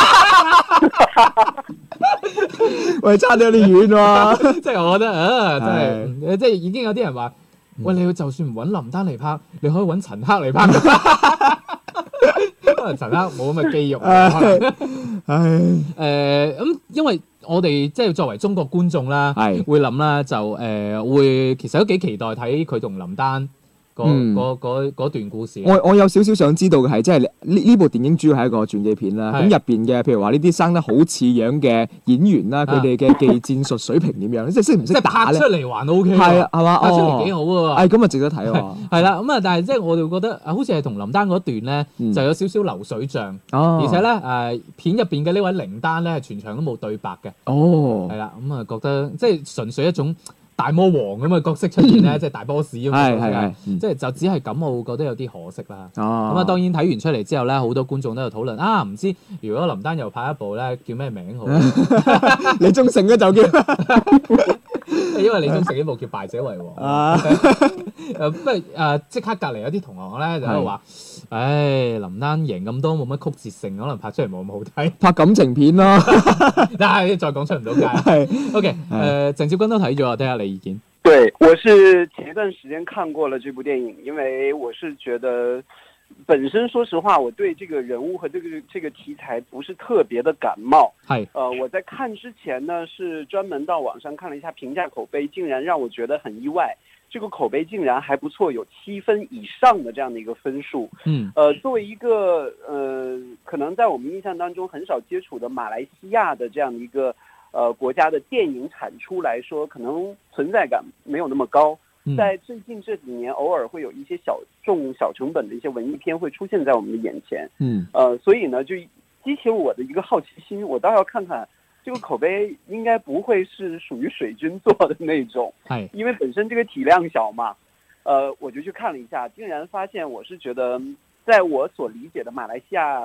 喂差啲有啲遠喎， 即係我覺得啊，真係，即係已經有啲人話，喂你就算唔揾林丹嚟拍，你可以揾陳赫嚟拍。可能陳赫冇咁嘅肌肉，唉，誒咁，因為我哋即係作為中國觀眾啦，係會諗啦，就誒會其實都幾期待睇佢同林丹嗰段故事。 我我有少少想知道嘅係，即係呢呢部電影主要係一個傳記片啦。咁入邊嘅，譬如話呢啲生得好似樣嘅演員啦，佢哋嘅技戰術水平點樣？即係識唔識打咧？ 拍出嚟還 O K， 係啊，係嘛？ 拍出嚟幾好喎。 係咁啊，值得睇喎。係啦，咁啊，但係即係我哋覺得好似係同林丹嗰段咧，就有少少流水帳。而且咧誒片入邊嘅呢位靈丹咧，係全場都冇對白嘅。哦，係啦，咁啊覺得即係純粹一種大魔王咁嘅角色出現咧，即係大 boss 咁嘅角色，即係就只係咁，我會覺得有啲可惜啦。咁啊，當然睇完出嚟之後咧，好多觀眾都有討論啊，唔知如果林丹又拍一部咧，叫咩名好？ 李宗盛咧就叫， 因為李宗盛呢部叫《敗者為王》。誒不過誒，即刻隔離有啲同學咧就喺度話。唉，林丹贏咁多冇乜曲折性，可能拍出嚟冇咁好睇。 拍感情片咯， 但係再講出唔到街。係 OK，誒，鄭少君都睇咗，聽下你意見。 對，我是前一段時間看過了這部電影，因為我是覺得本身說實話，我對這個人物和這個這個題材不是特別的感冒。係，呃，我在看之前呢，是專門到網上看了一下評價口碑，竟然讓我覺得很意外。這個口碑竟然還不錯，有七分以上的這樣的一個分數。嗯，呃，作為一個呃，可能在我們印象當中很少接觸的馬來西亞的這樣的一個呃國家的電影產出來說，可能存在感沒有那麼高。在最近這幾年，偶爾會有一些小眾、小成本的一些文藝片會出現在我們的眼前。嗯，呃，所以呢，就激起我的一個好奇心，我倒要看看。這個口碑應該不會是屬於水軍做的那種，係，因為本身這個體量小嘛，呃，我就去看了一下，竟然發現我是覺得，在我所理解的馬來西亞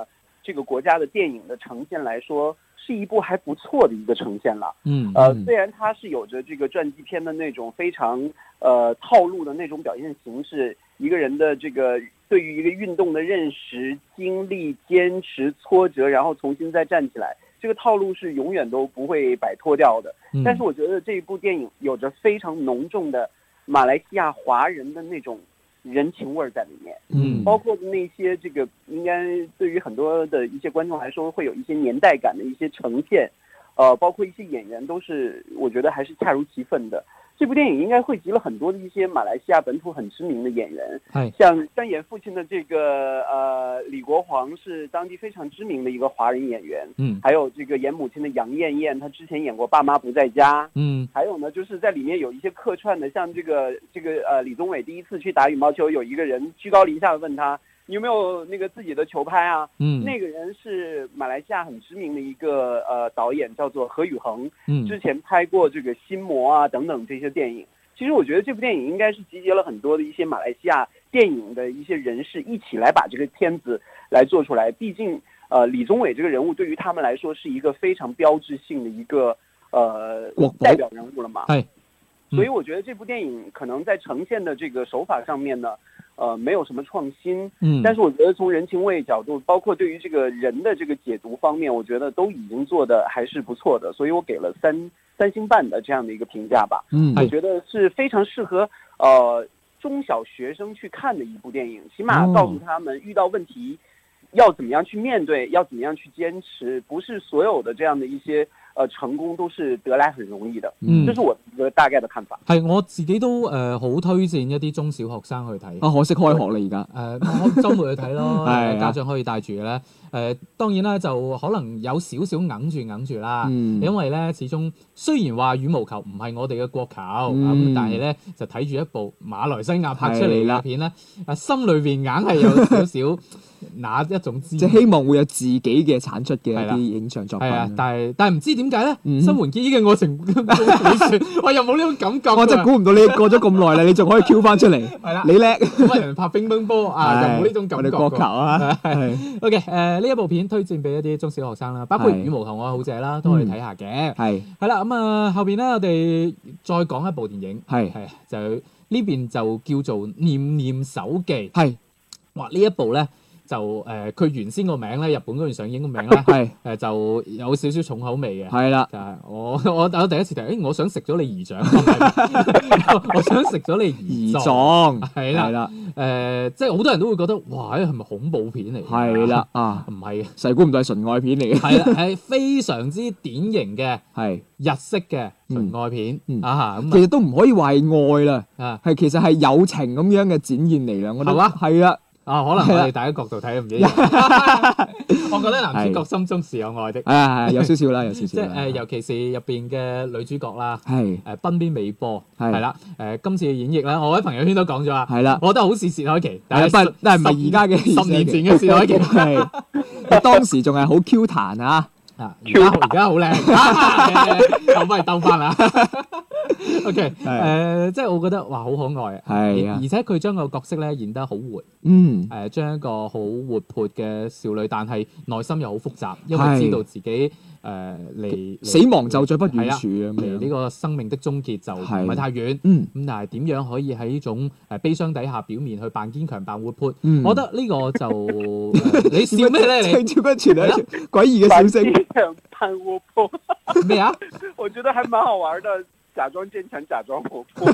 這個國家的電影的呈現來說，是一部還不錯的一個呈現了。 嗯， 呃，雖然它是有着這個傳記片的那種非常呃套路的那種表現形式，一個人的這個對於一個運動的認識、經歷、堅持、挫折，然後重新再站起來，這個套路是永遠都不會擺脫掉的。 嗯， 但是我覺得這一部電影有着非常濃重的馬來西亞華人的那種人情味在裏面， 嗯， 包括那些這個應該對於很多的一些觀眾來說會有一些年代感的一些呈現，呃，包括一些演員都是我覺得還是恰如其分的。這部電影應該匯集了很多的一些馬來西亞本土很知名的演員，像飾演父親的這個呃李國煌是當地非常知名的一個華人演員， 嗯， 還有這個演母親的楊燕燕，她之前演過《爸媽不在家》， 嗯， 還有呢就是在裏面有一些客串的，像這個這個呃李宗偉第一次去打羽毛球，有一個人居高臨下的問他，你有沒有那個自己的球拍啊？ 嗯， 那個人是馬來西亞很知名的一個呃導演，叫做何宇恒， 嗯， 之前拍過這個心魔啊等等這些電影。其實我覺得這部電影應該是集結了很多的一些馬來西亞電影的一些人士一起來把這個片子來做出來。畢竟呃李宗偉這個人物對於他們來說是一個非常標誌性的一個呃代表人物了嘛。 係， 所以我覺得這部電影可能在呈現的這個手法上面呢，呃，沒有什麼創新，嗯，但是我覺得從人情味角度，包括對於這個人的這個解讀方面，我覺得都已經做得還是不錯的，所以我給了三三星半的這樣的一個評價吧。嗯，我覺得是非常適合呃中小學生去看的一部電影，起碼告訴他們遇到問題要怎麼樣去面對，要怎麼樣去堅持，不是所有的這樣的一些。呃，成功都是得來很容易的，嗯，這是我一個大概的看法。 係我自己都誒好、呃、推薦一啲中小學生去睇。 啊，可惜開學啦而家。誒、 呃，我週末去睇咯，家長可以帶住嘅咧。誒、呃，當然啦，就可能有少少硬住硬住啦，嗯、因為咧始終雖然話羽毛球唔係我哋嘅國球，咁、嗯、但係咧就睇住一部馬來西亞拍出嚟嘅片咧，啊心裏邊硬係有少少那一種滋味， 即係希望會有自己嘅產出嘅一啲影像作品。 係啊，但係但係唔知點解咧？新垣結衣嘅愛情我又冇呢種感覺。 我真係估唔到你過咗咁耐啦，你仲可以 Q 翻出嚟。係啦，你叻。 乜人拍乒乓波啊？又冇呢種感覺。 我哋國球啊。 OK， 誒呢一部片推薦俾一啲中小學生啦，包括羽毛球愛好者啦，都可以睇下嘅。係。係啦，咁啊後邊咧，我哋再講一部電影。係係就呢邊就叫做《念念手記》。係。哇！呢一部咧。就誒，佢、呃、原先個名咧，日本嗰邊上映個名咧，係誒、呃、就有少少重口味嘅。係啦，就係我我我第一次睇，誒我想食咗你姨丈，我想食咗你姨丈，係啦，係啦，誒即係好多人都會覺得，哇！係咪恐怖片嚟？係啦，啊唔係，細估唔到係純愛片嚟嘅。係啦，係非常之典型嘅，係日式嘅純愛片、嗯嗯、啊咁。其實都唔可以話係愛啦，啊係其實係友情咁樣嘅展現嚟啦。我覺得係啦。啊，可能我哋大家角度睇唔一樣。我覺得男主角心中是有愛的。係係有少少啦，有少少。即係誒，尤其是入邊嘅女主角啦，係誒濱邊美波，係啦誒，今次嘅演繹咧，我喺朋友圈都講咗啦，係啦，我覺得好似薛凱琪，但係但係唔係而家嘅十年前嘅薛凱琪，係當時仲係好 Q 彈啊！啊！而家而家好靚，又翻嚟兜翻啦。OK，誒，即係我覺得哇，好可愛啊！係啊，而且佢將個角色咧演得好活，嗯，誒，將一個好活潑嘅少女，但係內心又好複雜，因為知道自己誒離死亡就在不遠處啊，離呢個生命的終結就唔係太遠，嗯，咁但係點樣可以喺呢種誒悲傷底下表面去扮堅強、扮活潑？我覺得呢個就你笑咩咧？你超不全係詭異嘅笑聲。 扮活潑咩啊？ 我覺得還蠻好玩的，假裝堅強，假裝活潑。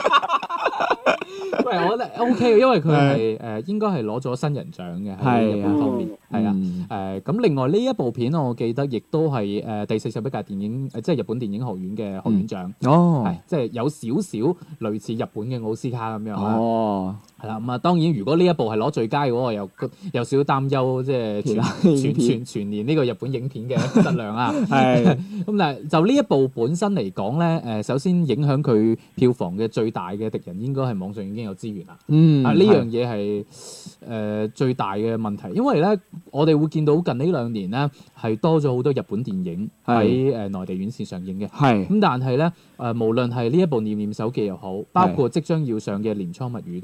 喂，我覺得 OK 嘅，因為佢係誒應該係攞咗新人獎嘅喺日本方面，係啊誒咁。另外呢一部片我記得亦都係誒第四十一屆電影誒即係日本電影學院嘅學院獎哦，係即係有少少類似日本嘅奧斯卡咁樣啦。哦，係啦咁啊，當然如果呢一部係攞最佳嘅話，又有少少擔憂，即係全全全全年呢個日本影片嘅質量啊。係咁，但係就呢一部本身嚟講咧，誒首先影響佢票房嘅最大嘅敵人應該係網上已經有資源啦。嗯，啊呢樣嘢係誒最大嘅問題，因為咧我哋會見到近呢兩年咧係多咗好多日本電影喺誒內地院線上映嘅。係咁，但係咧誒無論係呢一部《念念手記》又好，包括即將要上嘅《鎌倉物語》都好，嗯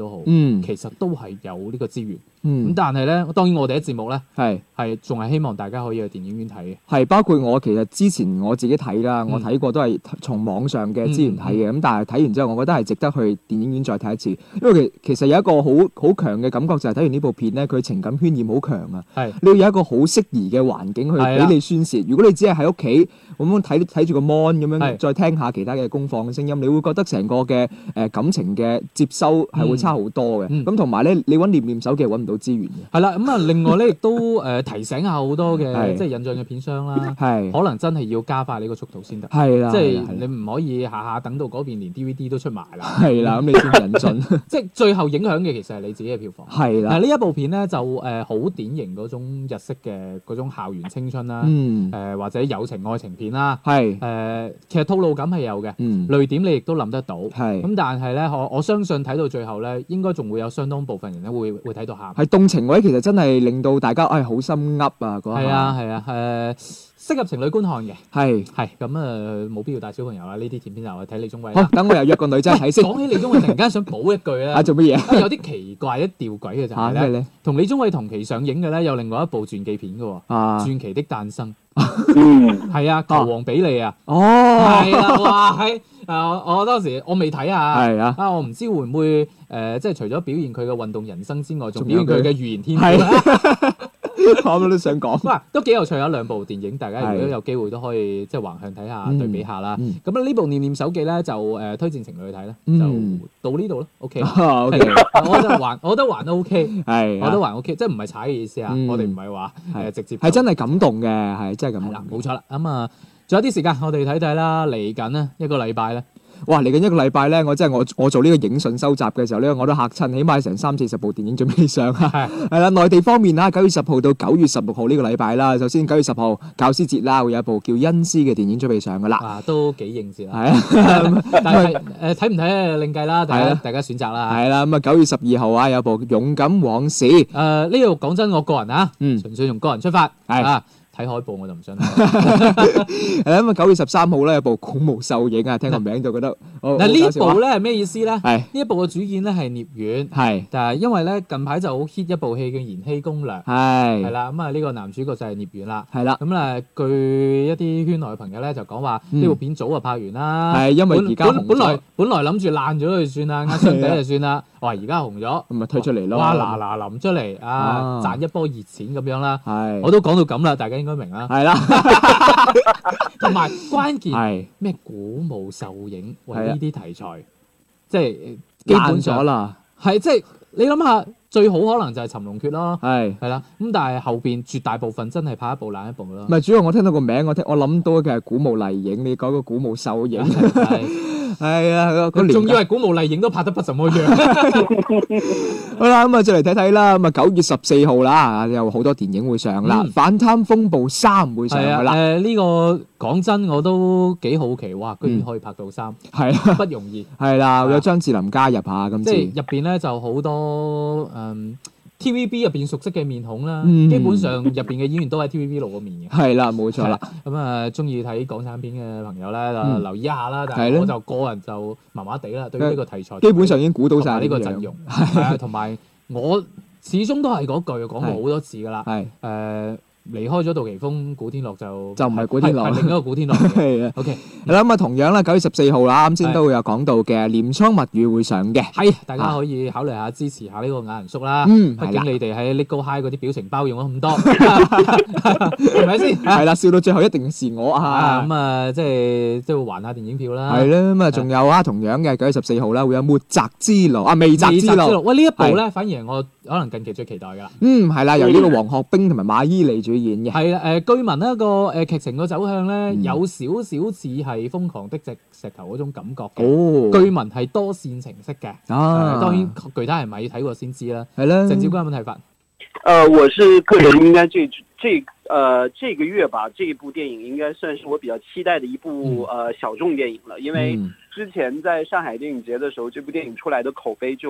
嗯、其實都係有呢個資源。咁、 嗯、 但係咧，當然我哋嘅節目咧係係仲係希望大家可以去電影院睇嘅。 係包括我其實之前我自己睇啦， 嗯、 我睇過都係從網上嘅資源睇嘅。咁、嗯嗯、但係睇完之後，我覺得係值得去電影院再睇一次，因為其其實有一個好好強嘅感覺就係睇完呢部片咧，佢情感渲染好強啊。係你要有一個好適宜嘅環境去俾你宣泄。如果你只係喺屋企咁樣睇睇住個 mon 咁樣，再聽下其他嘅功放嘅聲音，你會覺得成個嘅誒感情嘅接收係會差好多嘅。咁同埋咧，你揾念念手機係揾唔到資源嘅。係啦， 咁啊，另外咧亦都誒提醒下好多嘅即係引進嘅片商啦，係可能真係要加快呢個速度先得。係啦，即係你唔可以下下等到嗰邊連 D V D 都出埋啦。係啦，咁你先引進，即係最後影響嘅其實係你自己嘅票房。係啦，嗱呢一部片咧就誒好典型嗰種日式嘅嗰種校園青春啦，誒或者友情愛情片啦，係誒其實套路感係有嘅，淚點你亦都諗得到。係咁，但係咧我我相信睇到最後咧，應該仲會有相當部分人咧會會睇到喊。係動情位其實真係令到大家誒好心噏啊！嗰下係啊係啊誒適合情侶觀看嘅。係係咁啊，冇必要帶小朋友啦。呢啲甜片就去睇李宗偉。好，等我又約個女仔睇先。講起李宗偉，突然間想補一句咧。啊，做乜嘢？有啲奇怪、一吊詭嘅就係咧，同李宗偉同期上映嘅咧，有另外一部傳記片嘅喎。啊，傳奇的誕生。嗯，係啊，球王比利啊。哦，係啦，哇，係啊，我當時我未睇啊。係啊，啊，我唔知會唔會誒，即係除咗表現佢嘅運動人生之外，仲表現佢嘅語言天賦。我都想講，哇，都幾有趣啊！兩部電影，大家如果有機會都可以即係橫向睇下、對比下啦。咁啊，呢部《念念手記》咧就誒推薦情侶去睇啦，就到呢度咯。OK，我覺得還我覺得還 OK，係，我覺得還 OK，即係唔係踩嘅意思啊！我哋唔係話誒直接係真係感動嘅，係真係咁。係啦，冇錯啦。咁啊，仲有啲時間，我哋睇睇啦。嚟緊呢一個禮拜咧。哇！嚟緊一個禮拜咧，我真係我我做呢個影訊收集嘅時候咧，我都嚇親，起碼成三四十部電影準備上啊！係係啦，內地方面啊，九月十號到九月十六號呢個禮拜啦。首先九月十號教師節啦，會有一部叫《恩師》嘅電影準備上噶啦。啊，都幾應節啦。係啊，但係誒睇唔睇另計啦，大家大家選擇啦。係啦，咁啊九月十二號啊有部《勇敢往事》。誒呢度講真，我個人啊，嗯，純粹用個人出發係啊。睇海報我就唔想睇。係啦，咁啊九月十三號咧有部《古墓獸影》啊，聽個名就覺得。嗱呢一部咧係咩意思咧？係呢一部嘅主演咧係聶遠。係。但係因為咧近排就好 hit 一部戲叫《延禧攻略》。係。係啦，咁啊呢個男主角就係聶遠啦。係啦。咁啊據一啲圈內嘅朋友咧就講話呢部片早就拍完啦。係因為而家本來本來諗住爛咗就算啦，壓箱底就算啦。哇！而家紅咗，咁咪推出嚟咯。哇！嗱嗱臨出嚟啊，賺一波熱錢咁樣啦。係。我都講到咁啦，大家應該明啦。係啦。同埋關鍵係咩？古墓獸影為呢啲題材，即係基本上啦。係即係你諗下，最好可能就係尋龍訣咯。係係啦。咁但係後邊絕大部分真係拍一部爛一部咯。唔係，主要我聽到個名，我聽我諗到嘅係古墓麗影，你講個古墓獸影。係啊，仲以為古墓麗影都拍得不怎麼樣。好啦，咁啊，再嚟睇睇啦。咁啊，九月十四號啦，有好多電影會上啦，嗯《反貪風暴三》會上噶啦。誒、呃，呢、這個講真，我都幾好奇，哇，居然可以拍到三，係啊、嗯，不容易。係啦，有張智霖加入下今次。即係入邊咧就好多誒。嗯 T V B 入邊熟悉嘅面孔啦，嗯、基本上入邊嘅演員都喺 T V B 露過面嘅。係啦，冇錯啦。咁啊，中意睇港產片嘅朋友咧，嗯、留意一下啦。但係我就個人就麻麻地啦，對於呢個題材。基本上已經估到晒呢個陣容。係啊，同埋我始終都係嗰句講過好多次㗎啦。係誒。呃離開咗杜琪峰，古天樂就就唔係古天樂，係另一個古天樂。係啊，OK，係啦咁啊，同樣啦，九月十四號啦，啱先都會有講到嘅《鎌倉物語》會上嘅，係大家可以考慮下支持下呢個雅人叔啦。嗯，畢竟你哋喺 Legal High 嗰啲表情包用咗咁多，係咪先？係啦，笑到最後一定是我啊！咁啊，即係即係還下電影票啦。係啦，咁啊，仲有啊，同樣嘅九月十四號啦，會有《末澤之路》啊，《未澤之路》。喂，呢一部咧，反而係我可能近期最期待㗎啦。嗯，係啦，由呢個黃學兵同埋馬伊琍主演嘅。係啦，誒據聞呢個誒劇情個走向咧，有少少似係瘋狂的石石頭嗰種感覺嘅。哦，據聞係多線程式嘅。啊，當然具體係咪要睇過先知啦。係啦，鄭少君有冇睇法？ 呃，我是個人應該這這呃這個月吧，這一部電影應該算是我比較期待的一部呃小眾電影了，因為之前在上海電影節的時候，這部電影出來的口碑就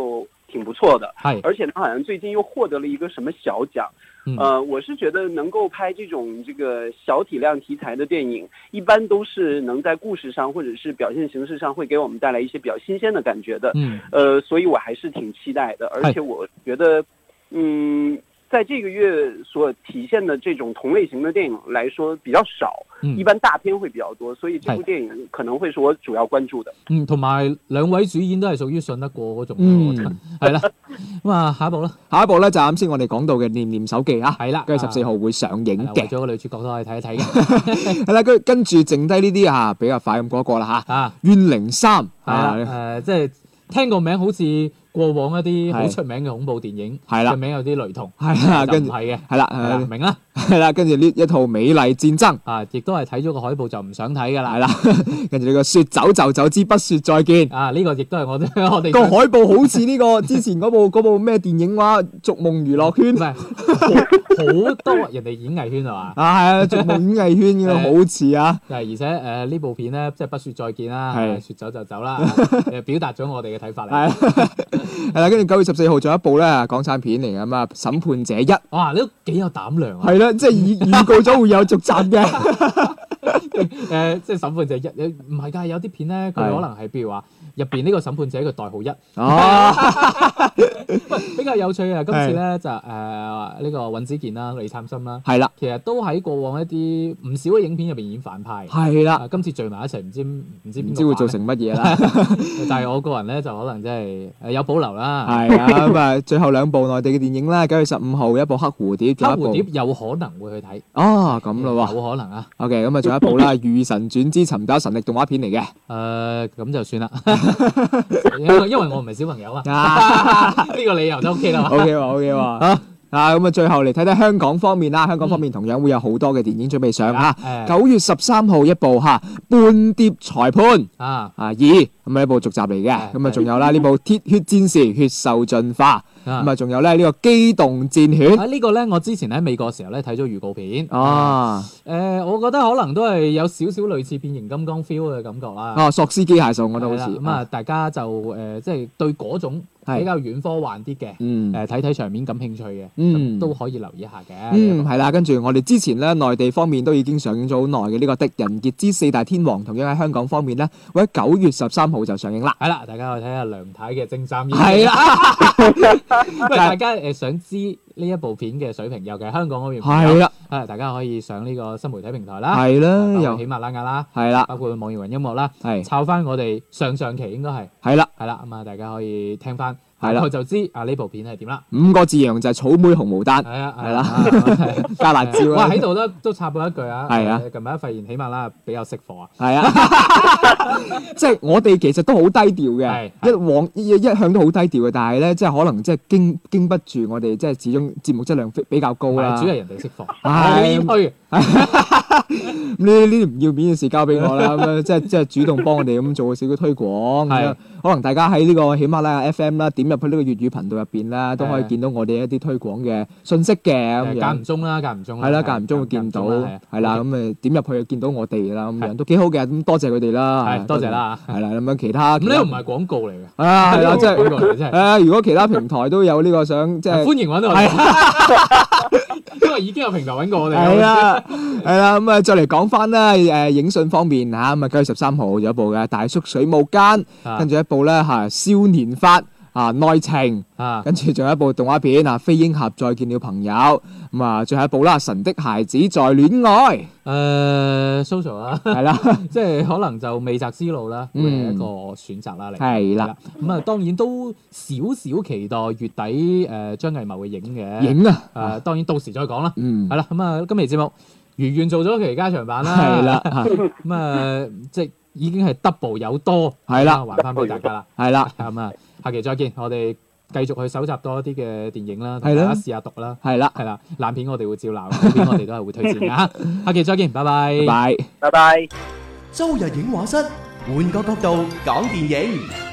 挺不錯的， 係， 而且他好像最近又獲得了一個什麼小獎。 嗯、 呃，我是覺得能夠拍這種這個小體量題材的電影，一般都是能在故事上或者是表現形式上會給我們帶來一些比較新鮮的感覺的。 嗯， 呃，所以我還是挺期待的，而且我覺得，嗯，在這個月所體現的這種同類型的電影來說比較少，嗯、一般大片會比較多，所以這部電影可能會是我主要關注的。 嗯，同埋兩位主演都係屬於信得過嗰種， 嗯， 係啦。咁啊，下一步啦， 下一步咧就啱先我哋講到嘅《念念手記》啊， 係啦， 跟住十四號會上映嘅， 為咗個女主角都可以睇一睇嘅。 係啦，跟跟住剩低呢啲啊，比較快咁過一過啦嚇。啊，怨靈三係啦，誒，即係聽個名好似過往一啲好出名嘅恐怖電影，係啦，個名有啲雷同， 係啦，跟住係嘅， 係啦， 明啦。 係啦，跟住呢一套《美麗戰爭》 啊，亦都係睇咗個海報就唔想睇噶啦， 係啦。跟住呢個說走就走之不說再見啊，呢、這個亦都係我我哋個海報好似呢個之前嗰部嗰部咩電影話《逐夢娛樂圈》， 唔係好多人哋演藝圈係嘛？ 啊係啊，《逐夢演藝圈》嘅好似啊。 係而且誒呢、呃、部片咧，即係不說再見啦，係說走就走啦，誒表達咗我哋嘅睇法嚟。係啦，跟住九月十四號仲有一部咧港產片嚟㗎嘛，《審判者一》。 哇，你都幾有膽量啊！ 係啦。即係預預告咗會有續集嘅， 誒，即係審判者一，唔係㗎，有啲片咧，佢可能係譬如話入邊呢個審判者嘅代號一，哦，比較有趣啊！今次咧就誒呢個尹子健啦、李燦森啦，係啦，其實都喺過往一啲唔少嘅影片入邊演反派，係啦，今次聚埋一齊，唔知唔知唔知會做成乜嘢啦。 但係我個人咧就可能真係誒有保留啦。 係啊，咁啊，最後兩部內地嘅電影啦，九月十五號一部黑蝴蝶， 黑蝴蝶有可能會去睇。 哦，咁咯喎， 有可能啊。 OK， 咁啊，仲有一部啦，《如神傳之尋找神力》動畫片嚟嘅。 誒，咁就算啦，因為因為我唔係小朋友啊。呢個理由都 OK 啦。OK 喎，OK 喎。啊啊，咁啊，最後嚟睇睇香港方面啦。香港方面同樣會有好多嘅電影準備上嚇。九月十三號一部嚇《叛諜裁判》啊啊二，咁啊一部續集嚟嘅。咁啊，仲有啦呢部《鐵血戰士：血獸進化》。咁啊，仲有咧呢個《機動戰犬》啊，呢個咧我之前喺美國時候咧睇咗預告片。哦，誒，我覺得可能都係有少少類似變形金剛 feel 嘅感覺啦。哦，索斯機械獸我覺得好似。咁啊，大家就誒，即係對嗰種比較軟科幻啲嘅，誒睇睇場面感興趣嘅，咁都可以留意下嘅。嗯，係啦，跟住我哋之前咧內地方面都已經上映咗好耐嘅呢個《狄仁傑之四大天王》，同樣喺香港方面咧會喺九月十三號就上映啦。係啦，大家可以睇下梁太嘅精湛演技。係啦。因為大家誒想知呢一部片嘅水平，尤其係香港嗰邊，係啦，啊大家可以上呢個新媒體平台啦，係啦，又喜馬拉雅啦，係啦，包括網易雲音樂啦，係抄翻我哋上上期應該係，係啦，係啦，咁啊大家可以聽翻，係啦，我就知啊呢部片係點啦。五個字形容就係草莓紅毛丹，係啊，係啦，加辣椒。哇喺度都都插播一句啊，係啊，近排發現喜馬拉雅比較識貨啊，係啊，即係我哋其實都好低調嘅，一往一一向都好低調嘅，但係咧即係可能即係經經不住我哋即係始終節目質量比較高啦。主要係人哋識貨，我呢呢啲唔要面嘅事交俾我啦，咁樣即係即係主動幫我哋咁做少少推廣，咁樣可能大家喺呢個喜馬拉雅 F M 啦，點入去呢個粵語頻道入邊啦，都可以見到我哋一啲推廣嘅信息嘅咁樣。間唔中啦，間唔中。係啦，間唔中會見到，係啦，咁誒點入去就見到我哋啦，咁樣都幾好嘅，咁多謝佢哋啦。係，多謝啦。係啦，咁樣其他。咁呢個唔係廣告嚟嘅。啊，係啦，即係廣告嚟，真係。係啊，如果其他平台都有呢個想即係。歡迎揾到我哋。因為已經有平台揾過我哋。係啊，係啦，咁啊再嚟講翻啦，誒影訊方面嚇，咁啊九月十三號有一部嘅《大叔水舞間》，跟住一部咧嚇《少年法》啊內情，啊跟住仲有一部動畫片啊《飛鷹俠再見了朋友》，咁啊最後一部啦《神的孩子在戀愛》。誒 social 啦，係啦，即係可能就未擇思路啦，會係一個選擇啦嚟。係啦，咁啊當然都少少期待月底誒張藝謀嘅影嘅影啊，誒當然到時再講啦。嗯，係啦，咁啊今期節目如願做咗期加長版啦，係啦，咁啊即係已經係 double 有多，係啦，還翻俾大家啦，係啦，咁啊下期再見，我哋繼續去搜集多一啲嘅電影啦，同大家試下讀啦，係啦，係啦，爛片我哋會照鬧，好片我哋都係會推薦㗎。下期再見，拜拜，拜拜，拜拜。 周日影畫室，換個角度講電影。